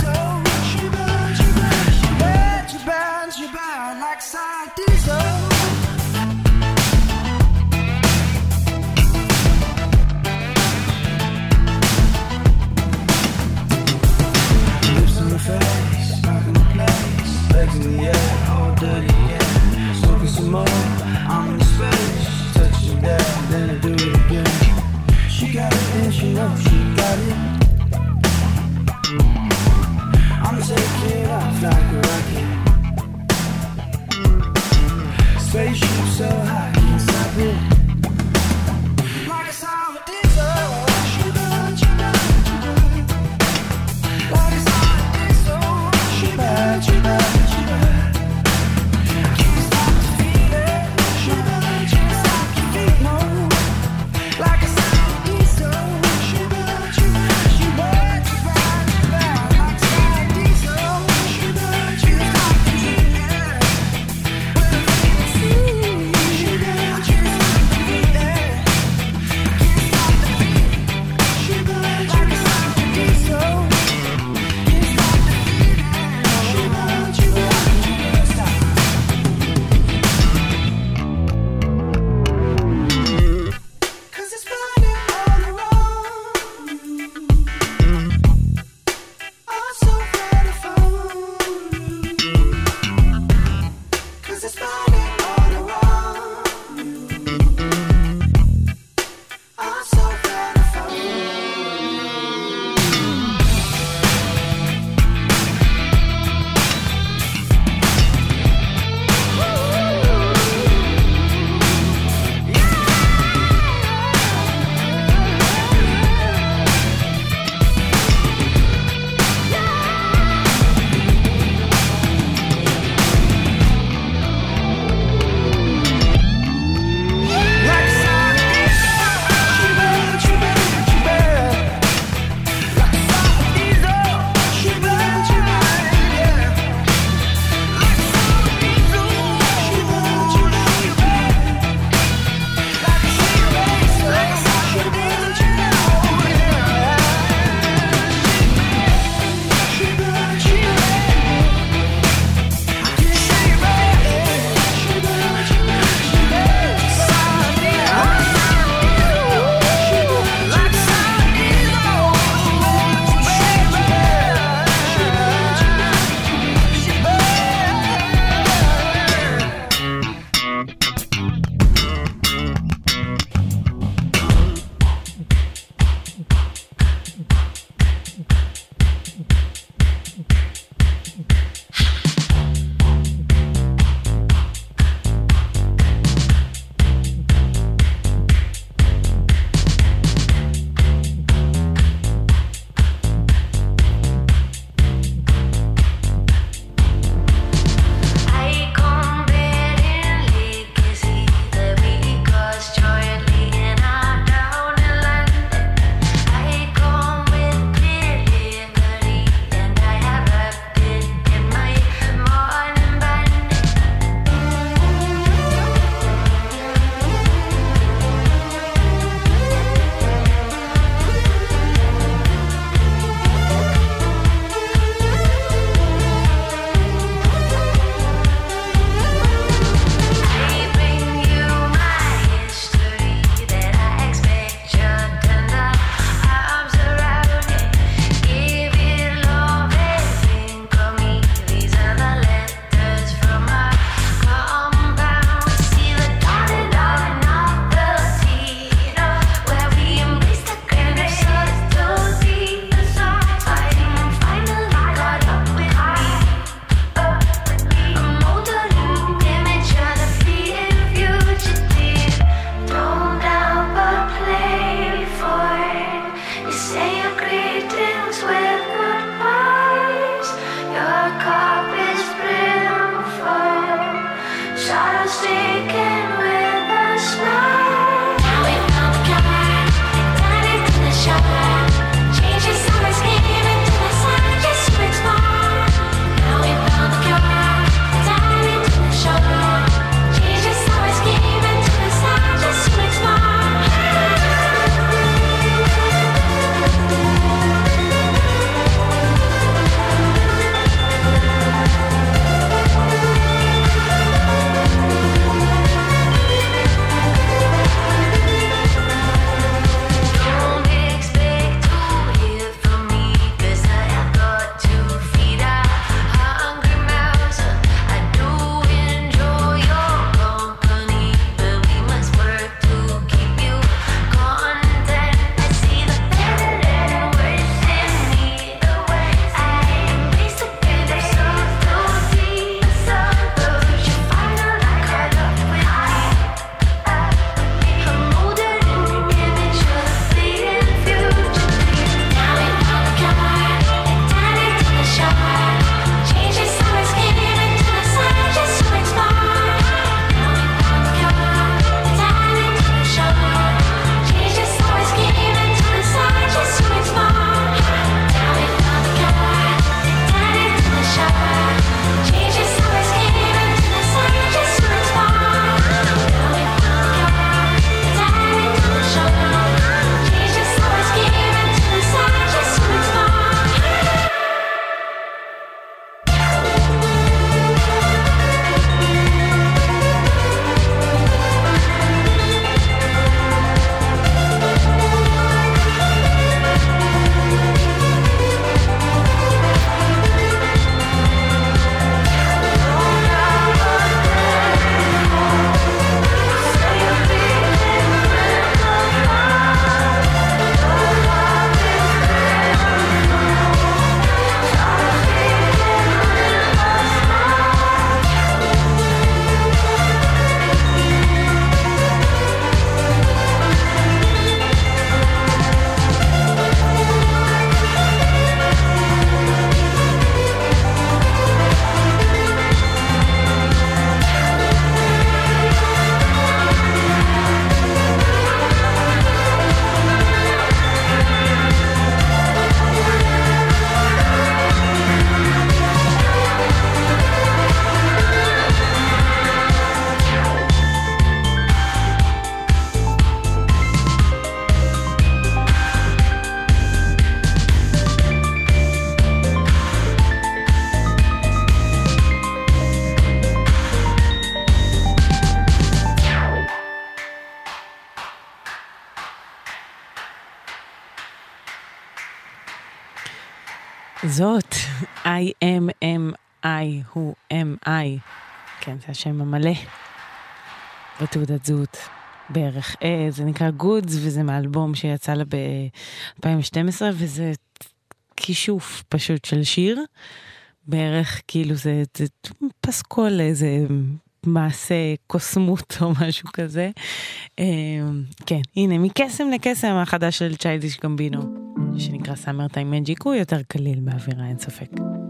זאת IMMI, הוא MI, כן, זה השם המלא בתעודת זהות בערך. זה נקרא Goods, וזה מאלבום שיצא לה ב-2012, וזה כישוף פשוט של שיר, בערך כאילו זה פסקול, איזה מעשה קוסמות או משהו כזה. כן, הנה, מקסם לקסם החדש של צ'יילדיש גמבינו, שנקרא Summertime Magic, הוא יותר קליל באווירה, אין ספק.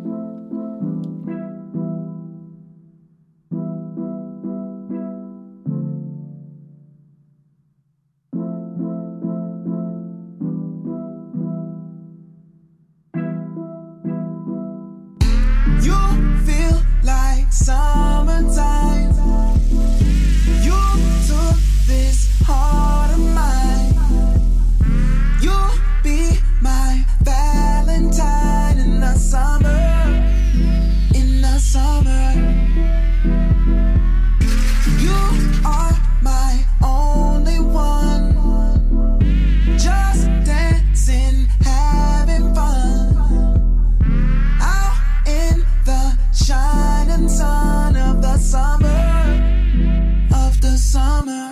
Summertime, you took this heart of mine. You'll be my Valentine in the summer, in the summer. You are my only one, just dancing, having fun, out in the shining sun of the summer, of the summer.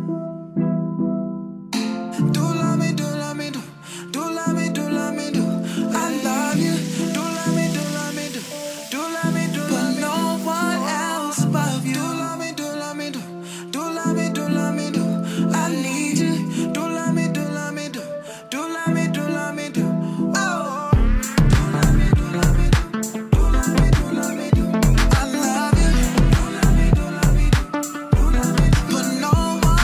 Do love me, do love me, do. Do love me, do love me, do. I love you. Do love me, do love me, do. Do love me, do love me, do. But no one else above you. Do love me, do love me, do. Do love me, do love me, do. I need you. Do love me, do love me, do. Do love me, do love me, do. Oh. Do love me, do love me, do. Do love me, do love me, do. I love you. Do love me, do love me, do. Do love me, do. But no one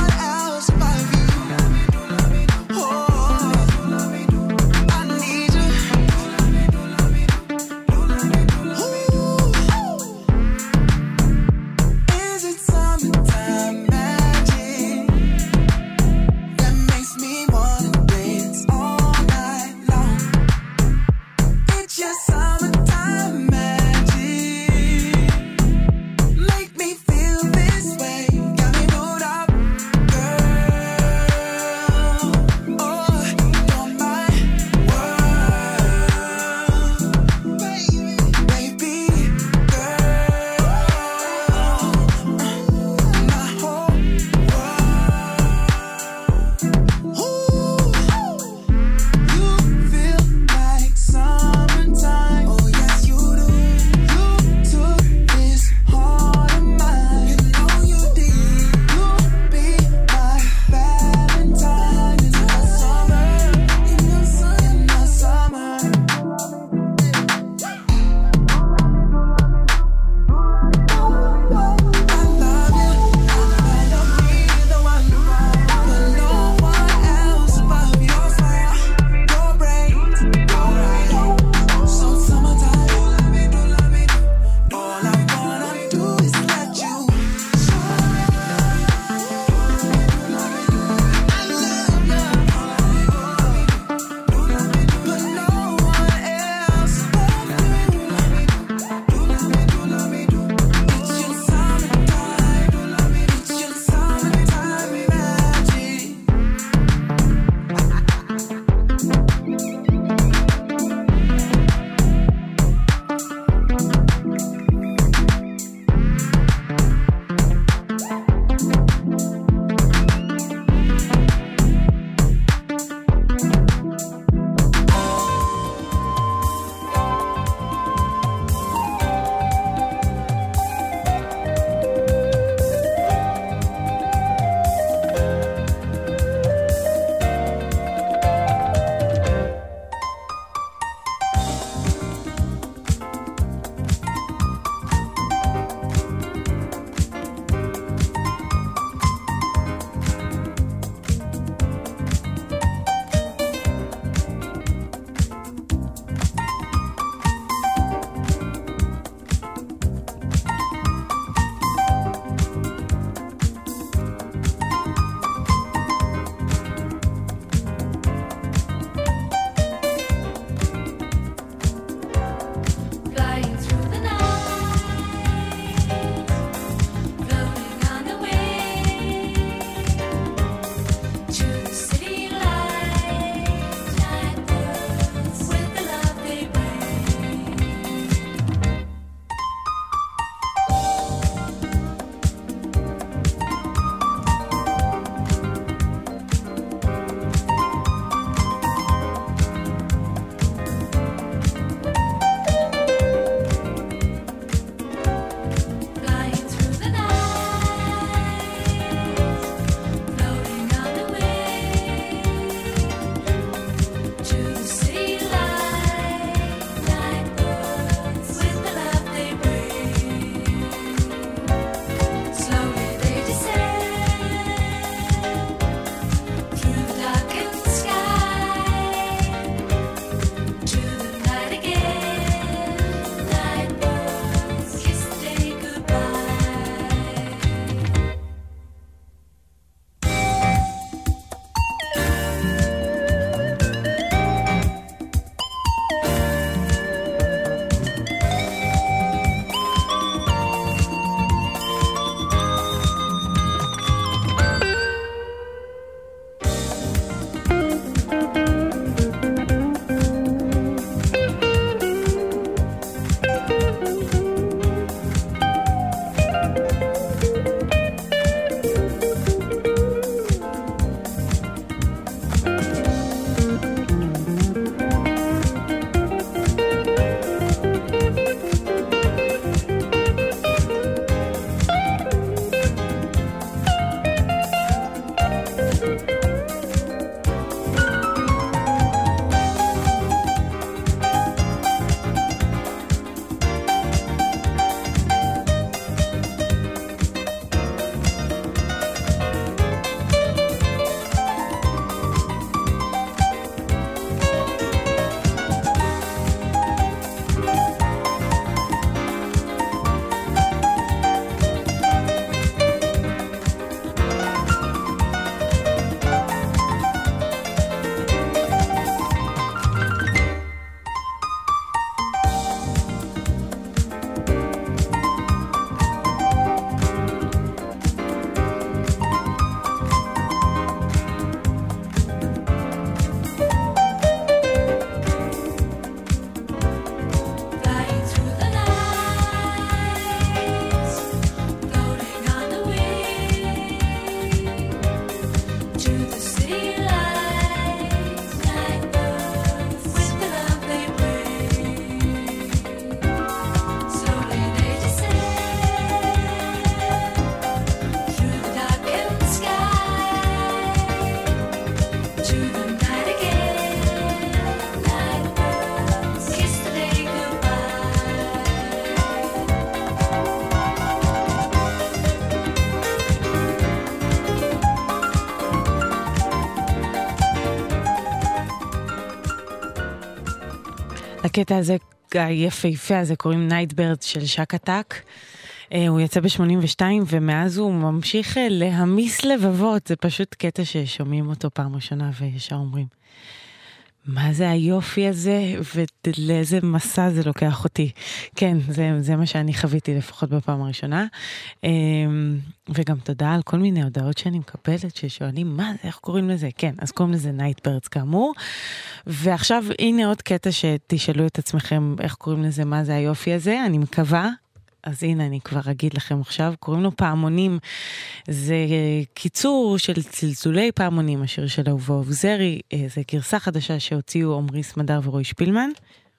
לקטע הזה, היפהפה הזה, קוראים Nightbirds של שק עתק. הוא יצא ב-82, ומאז הוא ממשיך להמיס לבבות. זה פשוט קטע ששומעים אותו פעם ראשונה, וישר אומרים, מה זה היופי הזה, ולאיזה מסע זה לוקח אותי. כן, זה מה שאני חוויתי לפחות בפעם הראשונה. וגם תודה על כל מיני הודעות שאני מקבלת, ששואלים, מה זה, איך קוראים לזה? כן, אז קוראים לזה Nightbirds כאמור. ועכשיו, הנה עוד קטע שתשאלו את עצמכם, איך קוראים לזה, מה זה היופי הזה? אני מקווה. אז הנה, אני כבר אגיד לכם עכשיו, קוראים לו פעמונים, זה קיצור של צלצולי פעמונים, השיר של אהובה עוזרי, זה גרסה חדשה שהוציאו עמרי סמדר ורועי שפילמן.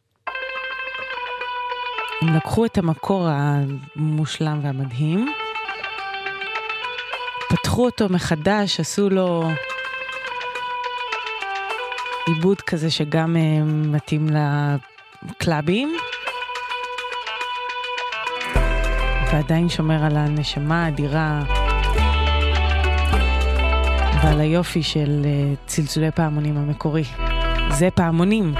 הם לקחו את המקור המושלם והמדהים, פתחו אותו מחדש, עשו לו עיבוד כזה שגם מתאים לקלאבים, ועדיין שומר על הנשמה האדירה ועל היופי של צלצולי פעמונים המקורי. זה פעמונים.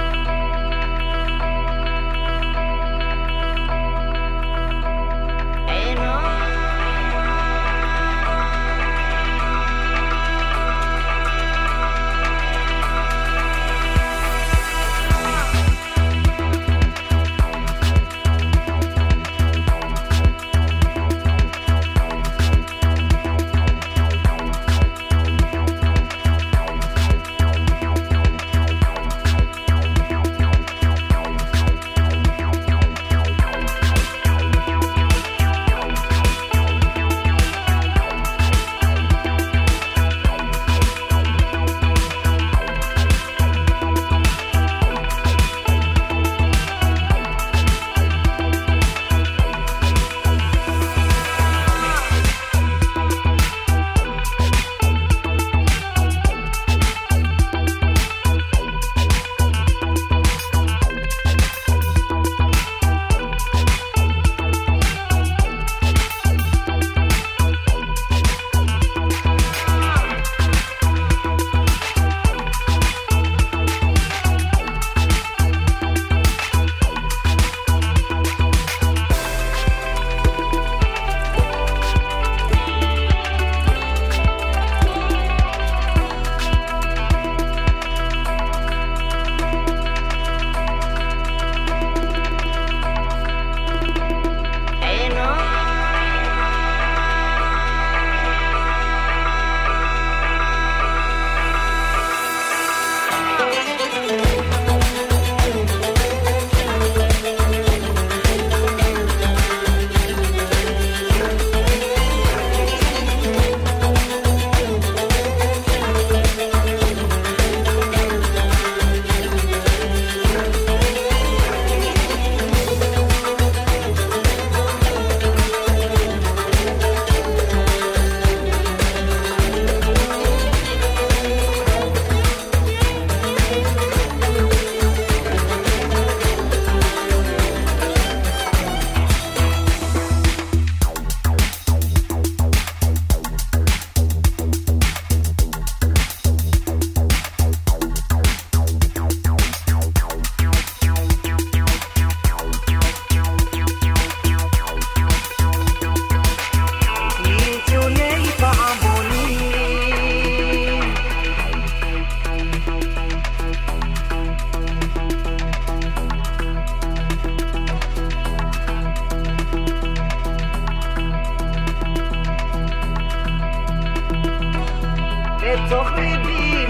בתוך ליבי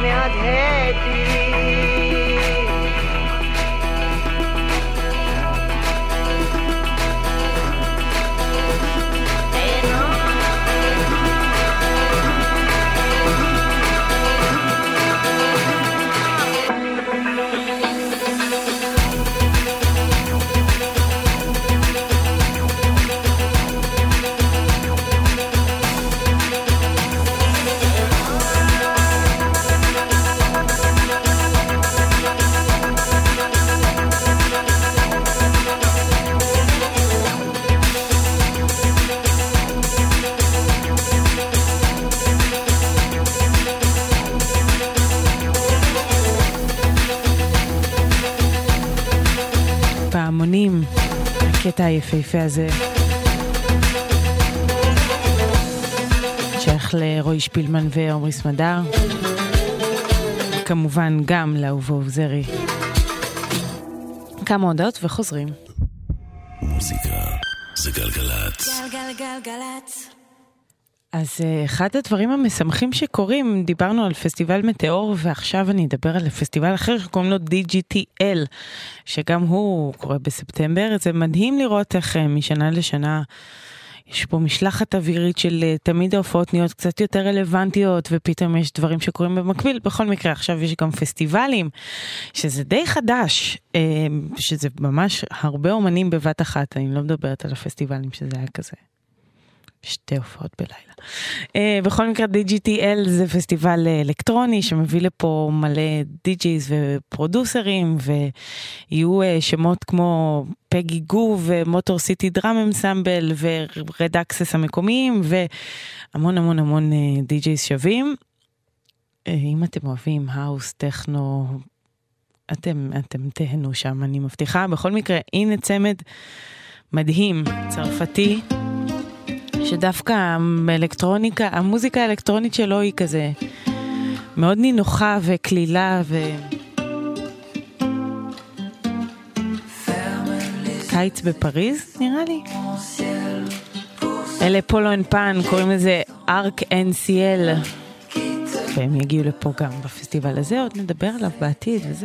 מהדהדים הקטע היפהפה הזה. שייך לרועי שפילמן ועומרי סמדר. כמובן גם לאהובו עוזרי. כמה הודעות וחוזרים. מוזיקה זה גלגלת. גלגלגלגלת. אז אחד הדברים המשמחים שקורים, דיברנו על פסטיבל מטאור, ועכשיו אני אדבר על פסטיבל אחר שקוראים לו DGTL, שגם הוא קורה בספטמבר. זה מדהים לראות איך משנה לשנה יש פה משלחת אווירית של תמיד ההופעות נהיות קצת יותר רלוונטיות, ופתאום יש דברים שקורים במקביל. בכל מקרה, עכשיו יש גם פסטיבלים, שזה די חדש, שזה ממש הרבה אומנים בבת אחת. אני לא מדברת על הפסטיבלים שזה היה כזה. שתי הופעות בלילה. בכל מקרה, DGTL זה פסטיבל אלקטרוני שמביא לפה מלא די-ג'ייז ופרודוסרים, ויהיו שמות כמו פגי גו ומוטור סיטי דראם אנסמבל ורד אקסס המקומיים, והמון המון המון די-ג'ייז שווים. אם אתם אוהבים האוס, טכנו, אתם תהנו שם, אני מבטיחה. בכל מקרה, הנה צמד מדהים, צרפתי, שדווקא האלקטרוניקה, המוזיקה האלקטרונית שלו היא כזה מאוד נינוחה וכלילה קיץ בפריז, נראה לי. אלה פולו אנד פן, קוראים לזה ארק אנד סיאל, והם יגיעו לפה גם בפסטיבל הזה, עוד נדבר עליו בעתיד וזה.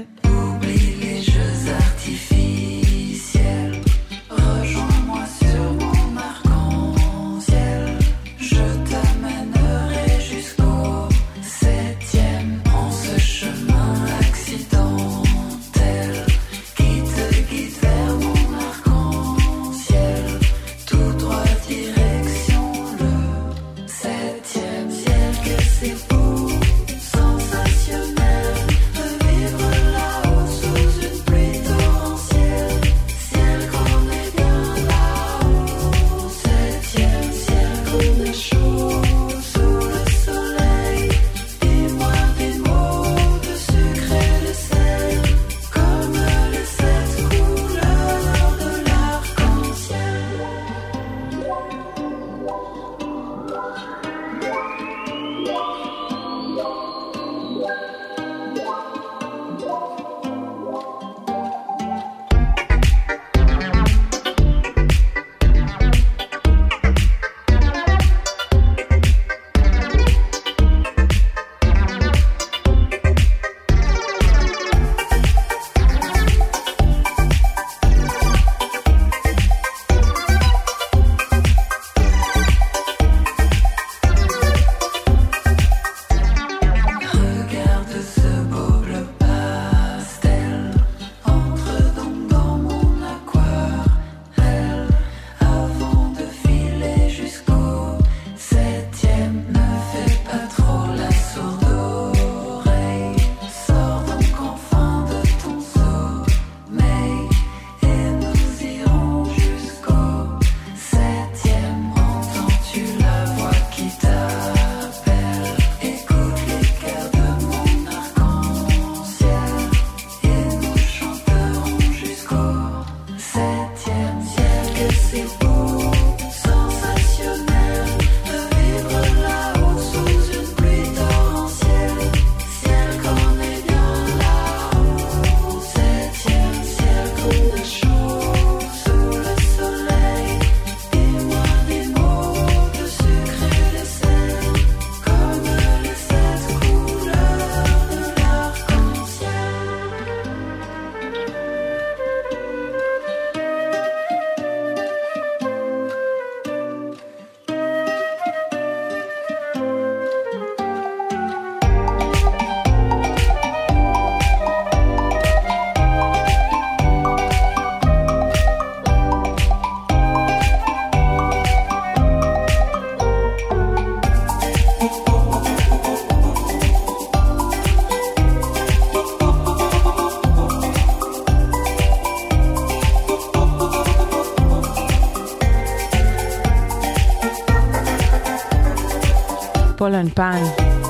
פולו אנד פן,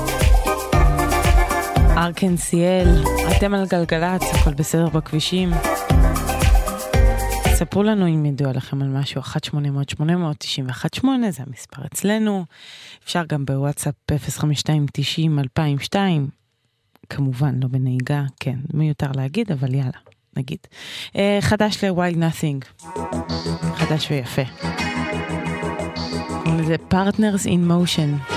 ארק אנד סיאל, אתם על גלגלת, הכל בסדר בכבישים. ספרו לנו אם ידוע לכם על משהו, 1-800-891-8, זה המספר אצלנו. אפשר גם בוואטסאפ 052-90-2002, כמובן לא בנהיגה, כן, מיותר להגיד, אבל יאללה, נגיד. חדש ל-Wild Nothing, חדש ויפה. זה Partners in Motion.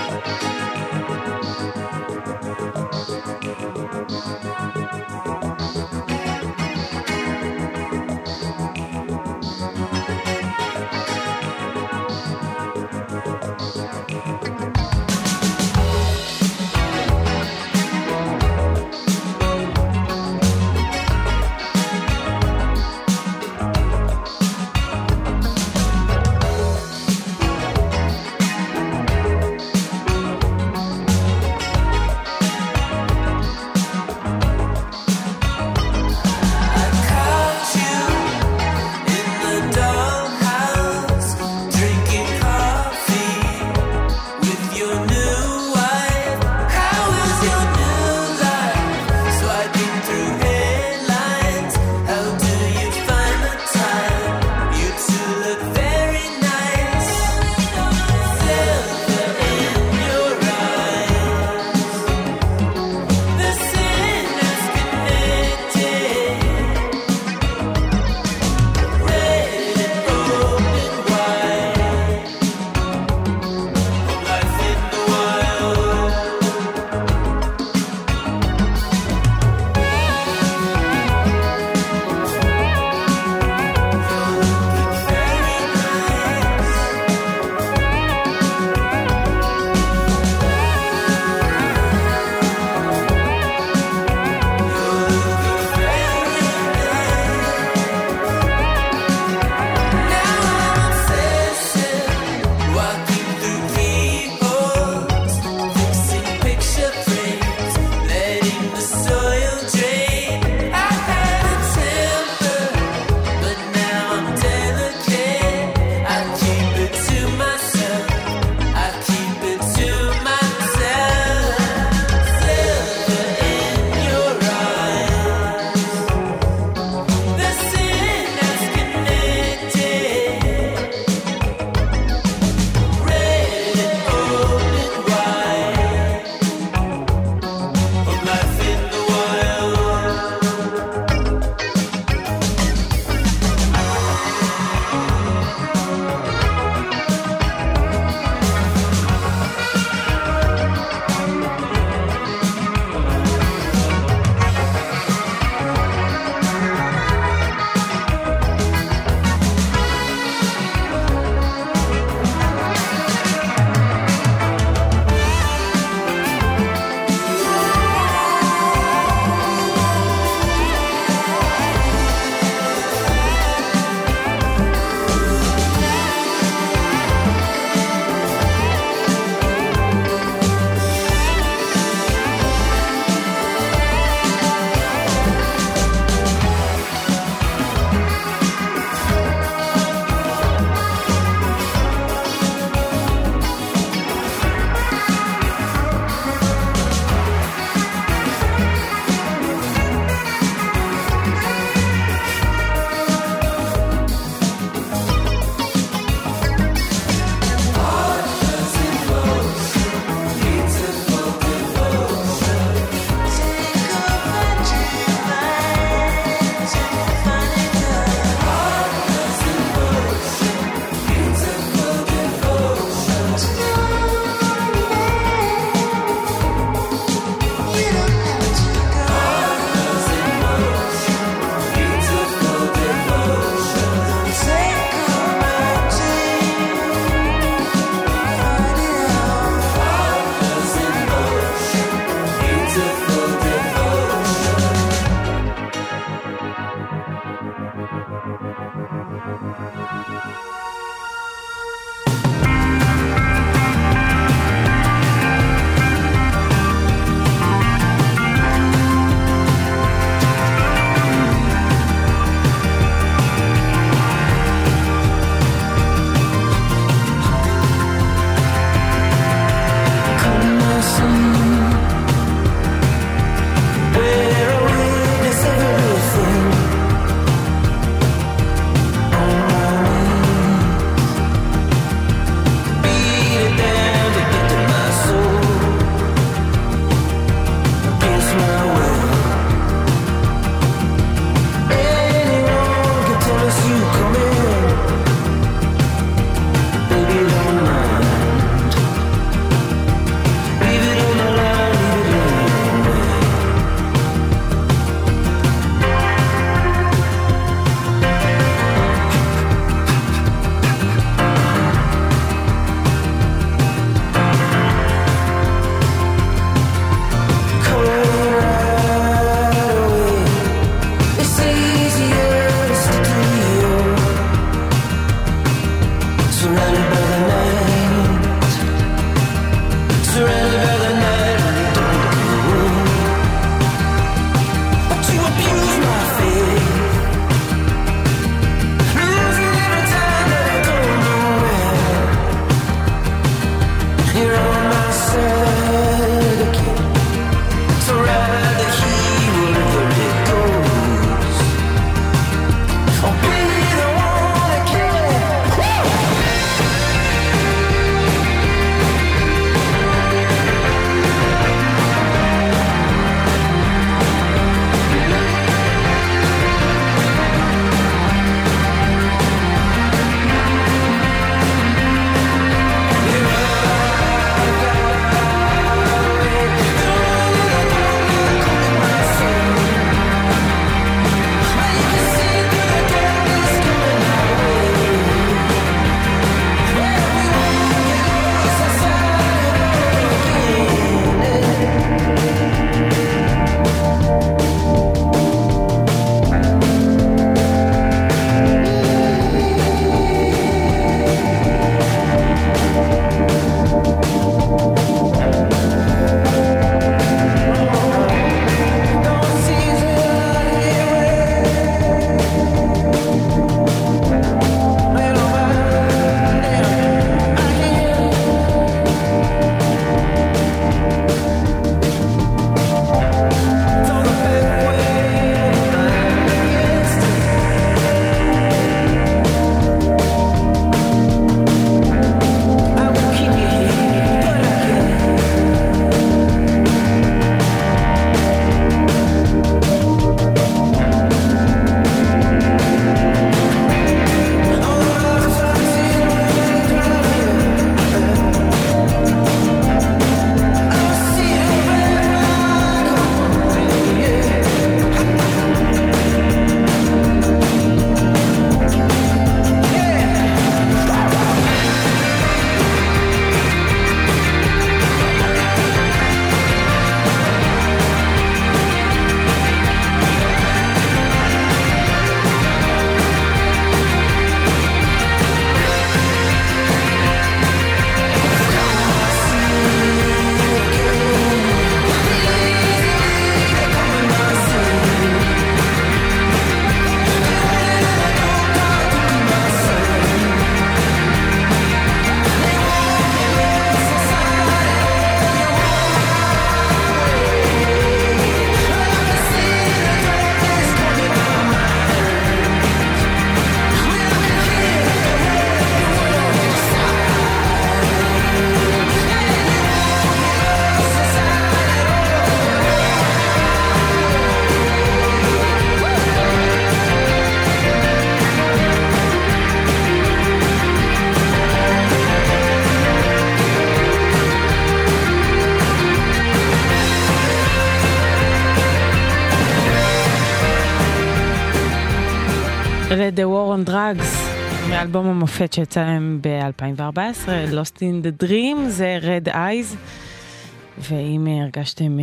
אלה The War on Drugs, מאלבום המופת שיצא להם ב-2014, Lost in the Dream, זה Red Eyes, ואם הרגשתם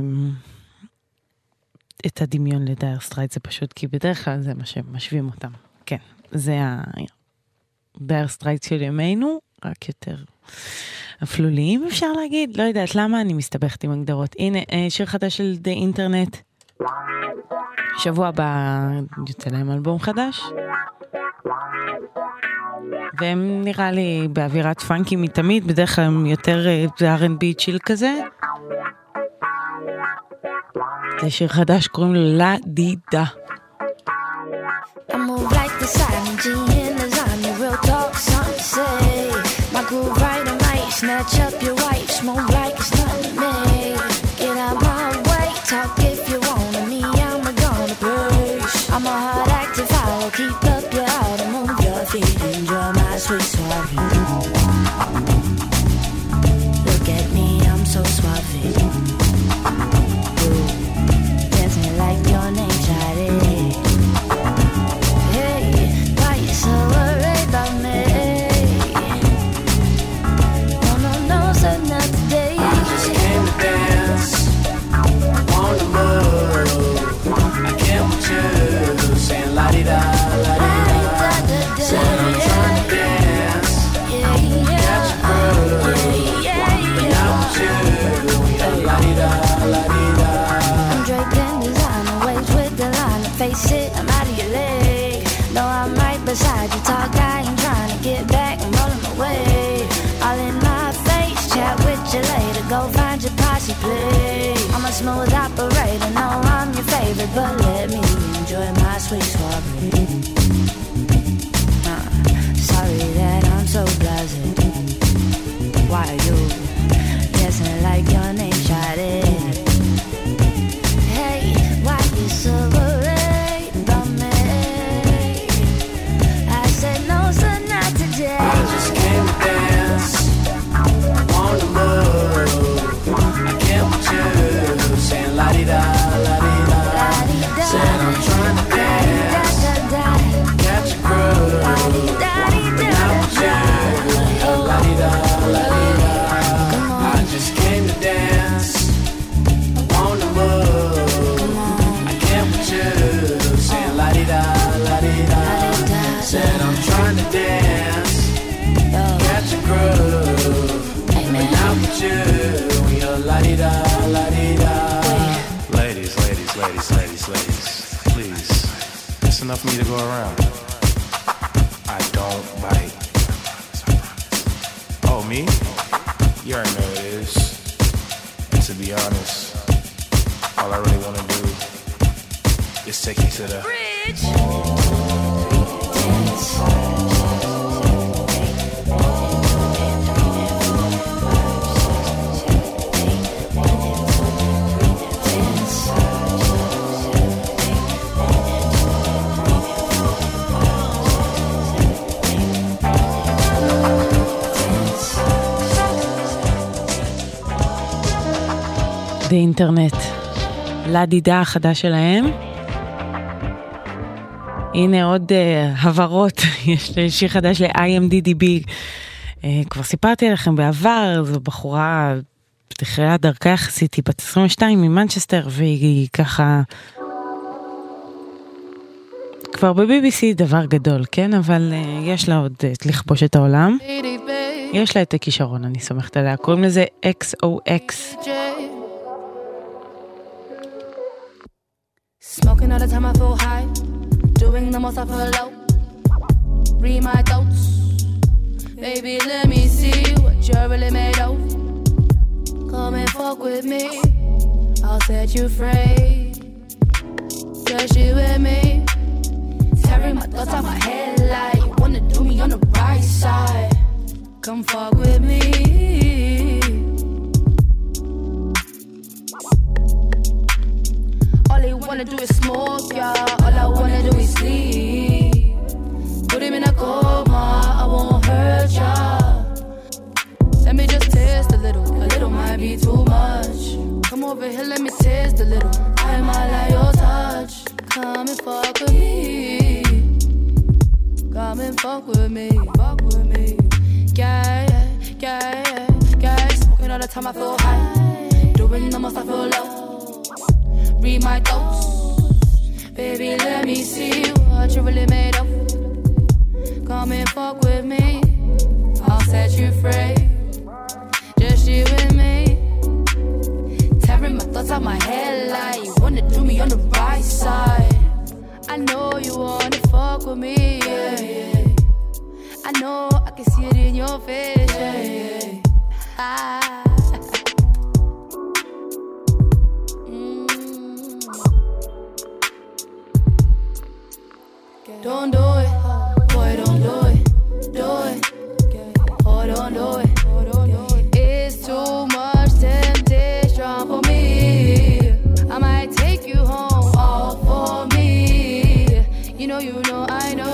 את הדמיון לדייר סטרייט, זה פשוט כי בדרך כלל זה מה שמשווים אותם. כן, זה הדייר סטרייט של ימינו, רק יותר אפלוליים אפשר להגיד, לא יודעת למה אני מסתבכת עם הגדרות. הנה, שיר חדש של The Internet, שבוע הבא יוצא להם אלבום חדש, והם נראה לי באווירת פאנקי מתמיד, בדרך כלל הם יותר R&B צ'יל כזה. זה שיר חדש, קוראים לו לה דידה. I move like the silent G in the zone, real talk, something to say. My groove right and right, snatch up your wife, smoke like it's nothing to me. Get out my way, talk if you want to me, I'm gonna push. I'm a hard active follow, keep up your heart and move your feet, enjoy my sweet suave. Look at me, I'm so suave. Dancing like your name, Shawty. So worried about me. No, so not today. I just came to dance, on the move. I came with you, saying la-di-da, la-di-da. Said I'm trying to dance, catch a groove. But not with you, yeah, la-di-da, la-di-da. I'm draped in designer, waves with the line. Face it, I'm out of your league. No, I'm right beside you, talk, I ain't trying to get back, I'm rolling away. All in my face, chat with you later, go find your posse, please. I'm a smooth operator, no, I'm your favorite, but let me enjoy my sweet soiree. Sorry that I'm so blasé. Why are you dancing like your name, Shawty? Hey, why you so worried about me? I said no, sir, not today. I just came to dance, on the move. I came with you, saying la-di-da, la-di-da. Said I'm trying to dance, catch a groove. Not with you, la-di-da, la-di-da. I just came to dance, on the move. I came with you, saying la-di-da, la-di-da. Said I'm trying to dance, catch a groove. But not with you, you're la-di-da, la-di-da. Ladies, please, it's enough for me to go around. I don't bite. Oh, me? You already know what it is. And to be honest, all I really want to do is take you to the bridge. The Internet, לדידה החדש שלהם. הנה עוד הברות, יש שיר חדש ל-IMDDB. כבר סיפרתי עליכם בעבר, זו בחורה בתחילת דרכה יחסית, היא בת 22 ממנצ'סטר, והיא ככה כבר ב-BBC דבר גדול, כן? אבל יש לה עוד לכבוש את העולם. יש לה את הכישרון, אני סומכת עליה. קוראים לזה XOX. Smoking all the time I feel high, doing the most I feel low. Read my thoughts, baby let me see what you're really made of. Come and fuck with me, I'll set you free. Just you and me, tearing my thoughts off my head like you wanna do me on the right side. Come fuck with me. All I wanna do is smoke, yeah. All I wanna do is sleep. Put him in a coma, I won't hurt ya. Let me just taste a little might be too much. Come over here, let me taste a little. I might like your touch. Come and fuck with me. come and fuck with me. Yeah, smoking all the time I feel high, doing the most I feel low. Read my thoughts, baby, let me see what you really made of. Come and fuck with me, I'll set you free. Just you and me, tearing my thoughts out my head like you wanna do me on the right side. I know you wanna fuck with me, yeah, yeah. I know I can see it in your face, yeah, yeah. Ah. Don't do it, boy, don't do it, do it. Oh, don't do it. It's too much temptation for me. I might take you home, all for me. You know, I know.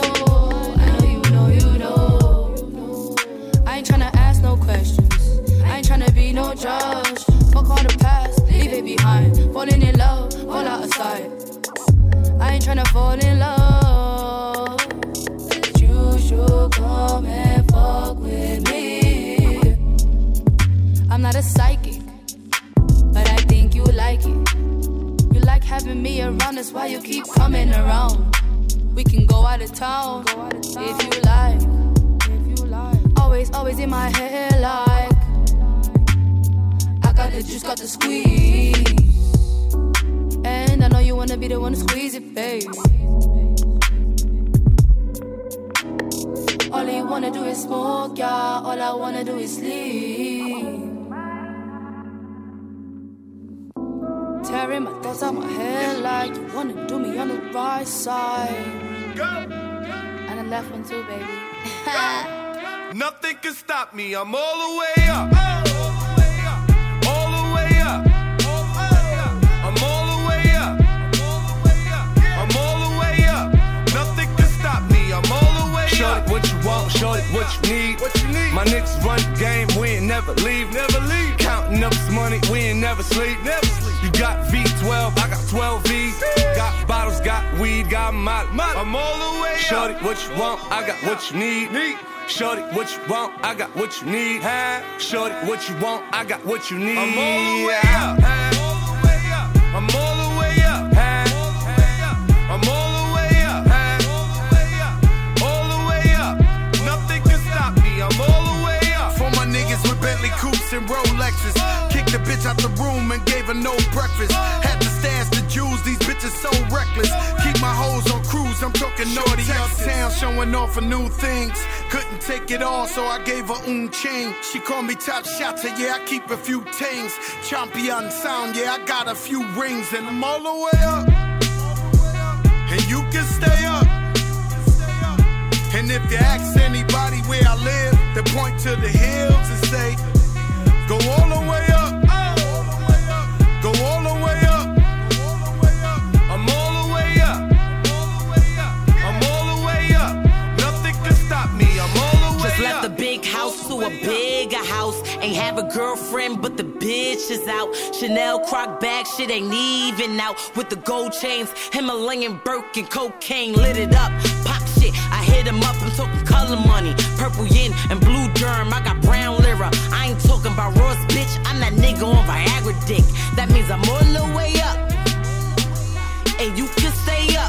I ain't tryna ask no questions. I ain't tryna be no judge. Fuck all the past, leave it behind. Falling in love, fall out of sight. I ain't tryna fall in love, but you should come and fuck with me. I'm not a psychic, but I think you like it. You like having me around, that's why you keep coming around. We can go out of town, if you like. Always in my head like I got the juice, got the squeeze. And I know you wanna be the one to squeeze it, babe. All you wanna do is smoke, yeah. All I wanna do is sleep. Tearing my thoughts out my head like you wanna do me on the right side. And the left one too, baby. Nothing can stop me, I'm all the way up. All the way up. I'm all the way up. I'm all the way up. Nothing can stop me, I'm all the way up. Shorty, what you want, shorty, what you need. My niggas run the game, we ain't never leave. Counting up this money, we ain't never sleep. You got V12, I got 12 V's. Got bottles, got weed, got molly. I'm all the way up. Shorty, what you want, I got what you need. Shorty, what you want, I got what you need. Shorty, what you want, I got what you need. I'm all the way up. I'm all the way up. I'm all the way up. All the way up. Nothing can stop me, I'm all the way up. For my niggas with Bentley coupes and Rolexes, kicked the bitch out the room and gave her no breakfast. Had to stash the jewels, these bitches so reckless. Keep my hoes on cruise, I'm talking naughty uptown, showing off for new things. Couldn't take it all, so I gave her chain. She called me top shotter, yeah, I keep a few things. Champion sound, yeah, I got a few rings. And I'm all the way up, and you can stay up. And if you ask anybody where I live, they point to the hills and say, go all the way up. Go all the way up. I'm all the way up. I'm all the way up. Nothing can stop me, I'm all the way up. Just left the big house to a bigger house. Ain't have a girlfriend, but the bitch is out. Chanel Croc bag, shit ain't even out. With the gold chains, Himalayan Birkin, cocaine, lit it up. Pop shit, I hit him up, I'm talking color money. Purple yin and blue germ, I got brown lira. I ain't talking about Ross, bitch, I'm that nigga on Viagra dick. That means I'm all the way up, and you can stay up.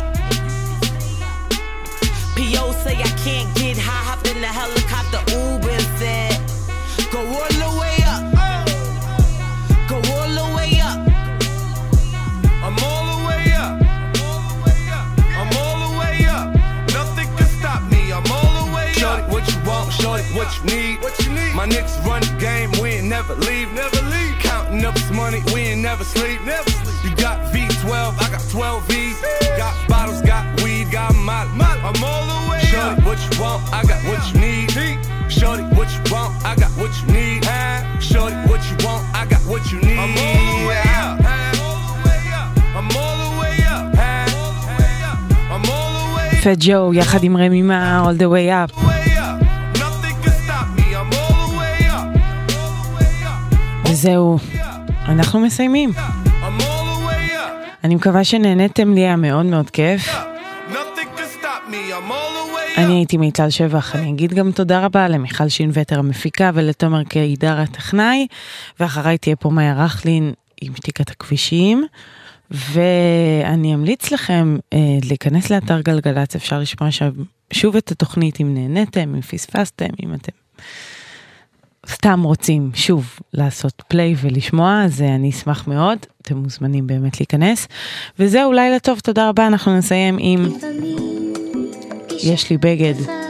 P.O. say I can't get high, hopped in the helicopter, Uber and said, go all the way up. Go all the way up. I'm all the way up. I'm all the way up. Nothing can stop me, I'm all the way up. Shorty, what you want, shorty, what you need. My niggas run the game, we ain't never leave. Counting up this money, we ain't never sleep. You got V12, I got 12 V's. Got bottles, got weed, got molly. I'm all the way up. Shorty, what you want, I got what you need. Shorty, what you want, I got what you need. Shorty, what you want, I got what you need. I'm all the way up. I'm all the way up. I'm all the way up. פט ג'ו יחד עם רמי מה All the way up. וזהו, אנחנו מסיימים. אני מקווה שנהנתם, לי היה מאוד מאוד כיף. אני הייתי מיטל שבח, אני אגיד גם תודה רבה למיכל שינווטר המפיקה ולתומר קידר הטכנאי, ואחריי תהיה פה מאיה רכלין עם שתיקת הכבישים, ואני אמליץ לכם להיכנס לאתר גלגלץ, אפשר לשמוע שוב את התוכנית אם נהניתם, אם פספסתם, אם אתם סתם רוצים שוב לעשות פליי ולשמוע, אז אני אשמח מאוד, אתם מוזמנים באמת להיכנס, וזהו, לילה טוב, תודה רבה, אנחנו נסיים עם יש לי בגד,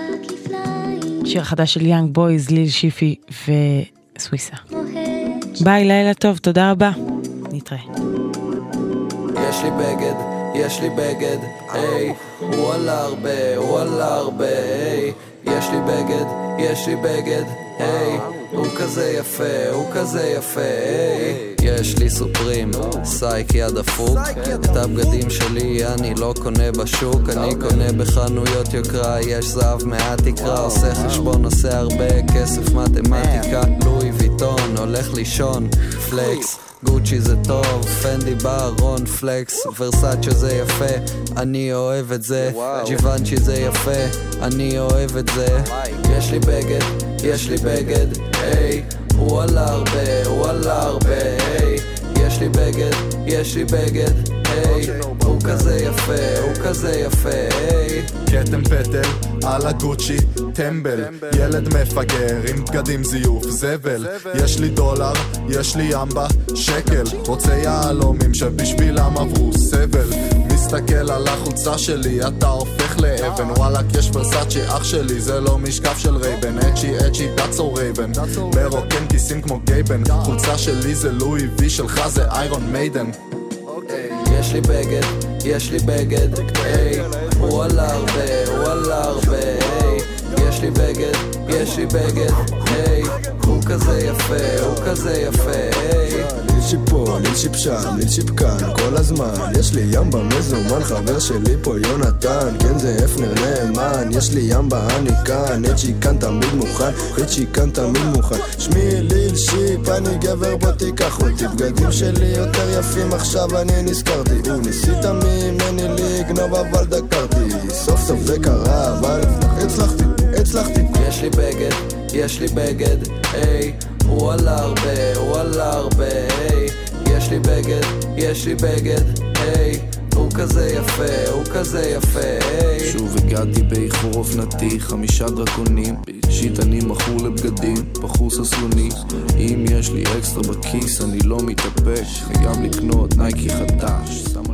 שיר חדש של יאנג בויז, ליל שיפי וסוויסה. ביי, לילה טוב, תודה רבה, נתראה. יש לי בגד, יש לי בגד, היי, הוא עלה הרבה, הוא עלה הרבה, היי, יש לי בגד, יש לי בגד, היי, הוא כזה יפה, הוא כזה יפה, היי, יש לי סופרים, סייקי הדפוק, את הבגדים שלי אני לא קונה בשוק, אני קונה בחנויות יוקרה, יש זהב מעט תקרה, עושה חשבון, עושה הרבה כסף, מתמטיקה, לואי ויטון, הולך לישון, פלקס, גוצ'י זה טוב, פנדי בארון, פלקס, ורסאצ'ה זה יפה, אני אוהב את זה, ג'יוונצ'י זה יפה, אני אוהב את זה, יש לי בגד, יש לי בגד, היי, הוא עלה הרבה, הוא עלה הרבה, היי, יש לי בגד, יש לי בגד, היי, הוא כזה יפה, הוא כזה יפה, היי, קטם פטל על הגוצ'י, טמבל, ילד מפגר עם בגדים זיוף, זבל, יש לי דולר, יש לי ימבה, שקל, רוצה יעלומים שבשבילם עברו סבל, מסתכל על החולצה שלי, אתה הופך לאבן, וואלק יש ורסאצ'י אח שלי, זה לא משקף של רייבן, אצ'י אצ'י דאצו רייבן, מרוקן כיסים כמו גייבן, חולצה שלי זה לואי וי, שלך זה איירון מיידן. יש לי בגד, יש לי בגד, היי, הוא עלה הרבה, הוא עלה הרבה, היי, יש לי בגד, יש לי בגד, היי, הוא כזה יפה, הוא כזה יפה, היי, ליל שיפו, ליל שיפשם, ליל שיפקן, כל הזמן, יש לי ימבה מזומן, חבר שלי פה יונתן, כן זה אפנר נאמן, יש לי ימבה אני כאן, אצ'י כאן תמיד מוכן, אצ'י כאן תמיד מוכן, שמי ליל שיפ, אני גבר בוא תיקח אותי, בגדים שלי יותר יפים עכשיו אני נזכרתי, ניסית ממני לגנוב אבל דקרתי, סוף סוף זה קרה אבל הצלחתי, יש לי בגד, יש לי בגד, היי, הוא עלה הרבה, הוא עלה הרבה, היי, יש לי בגד, יש לי בגד, היי, הוא כזה יפה, הוא כזה יפה, היי, שוב הגעתי באיחור אופנתי, 5 דרקונים, שיט אני מכור לבגדים, בחור ססלוני, אם יש לי אקסטרה בכיס אני לא מתאפק, וגם לקנות נייקי חדש,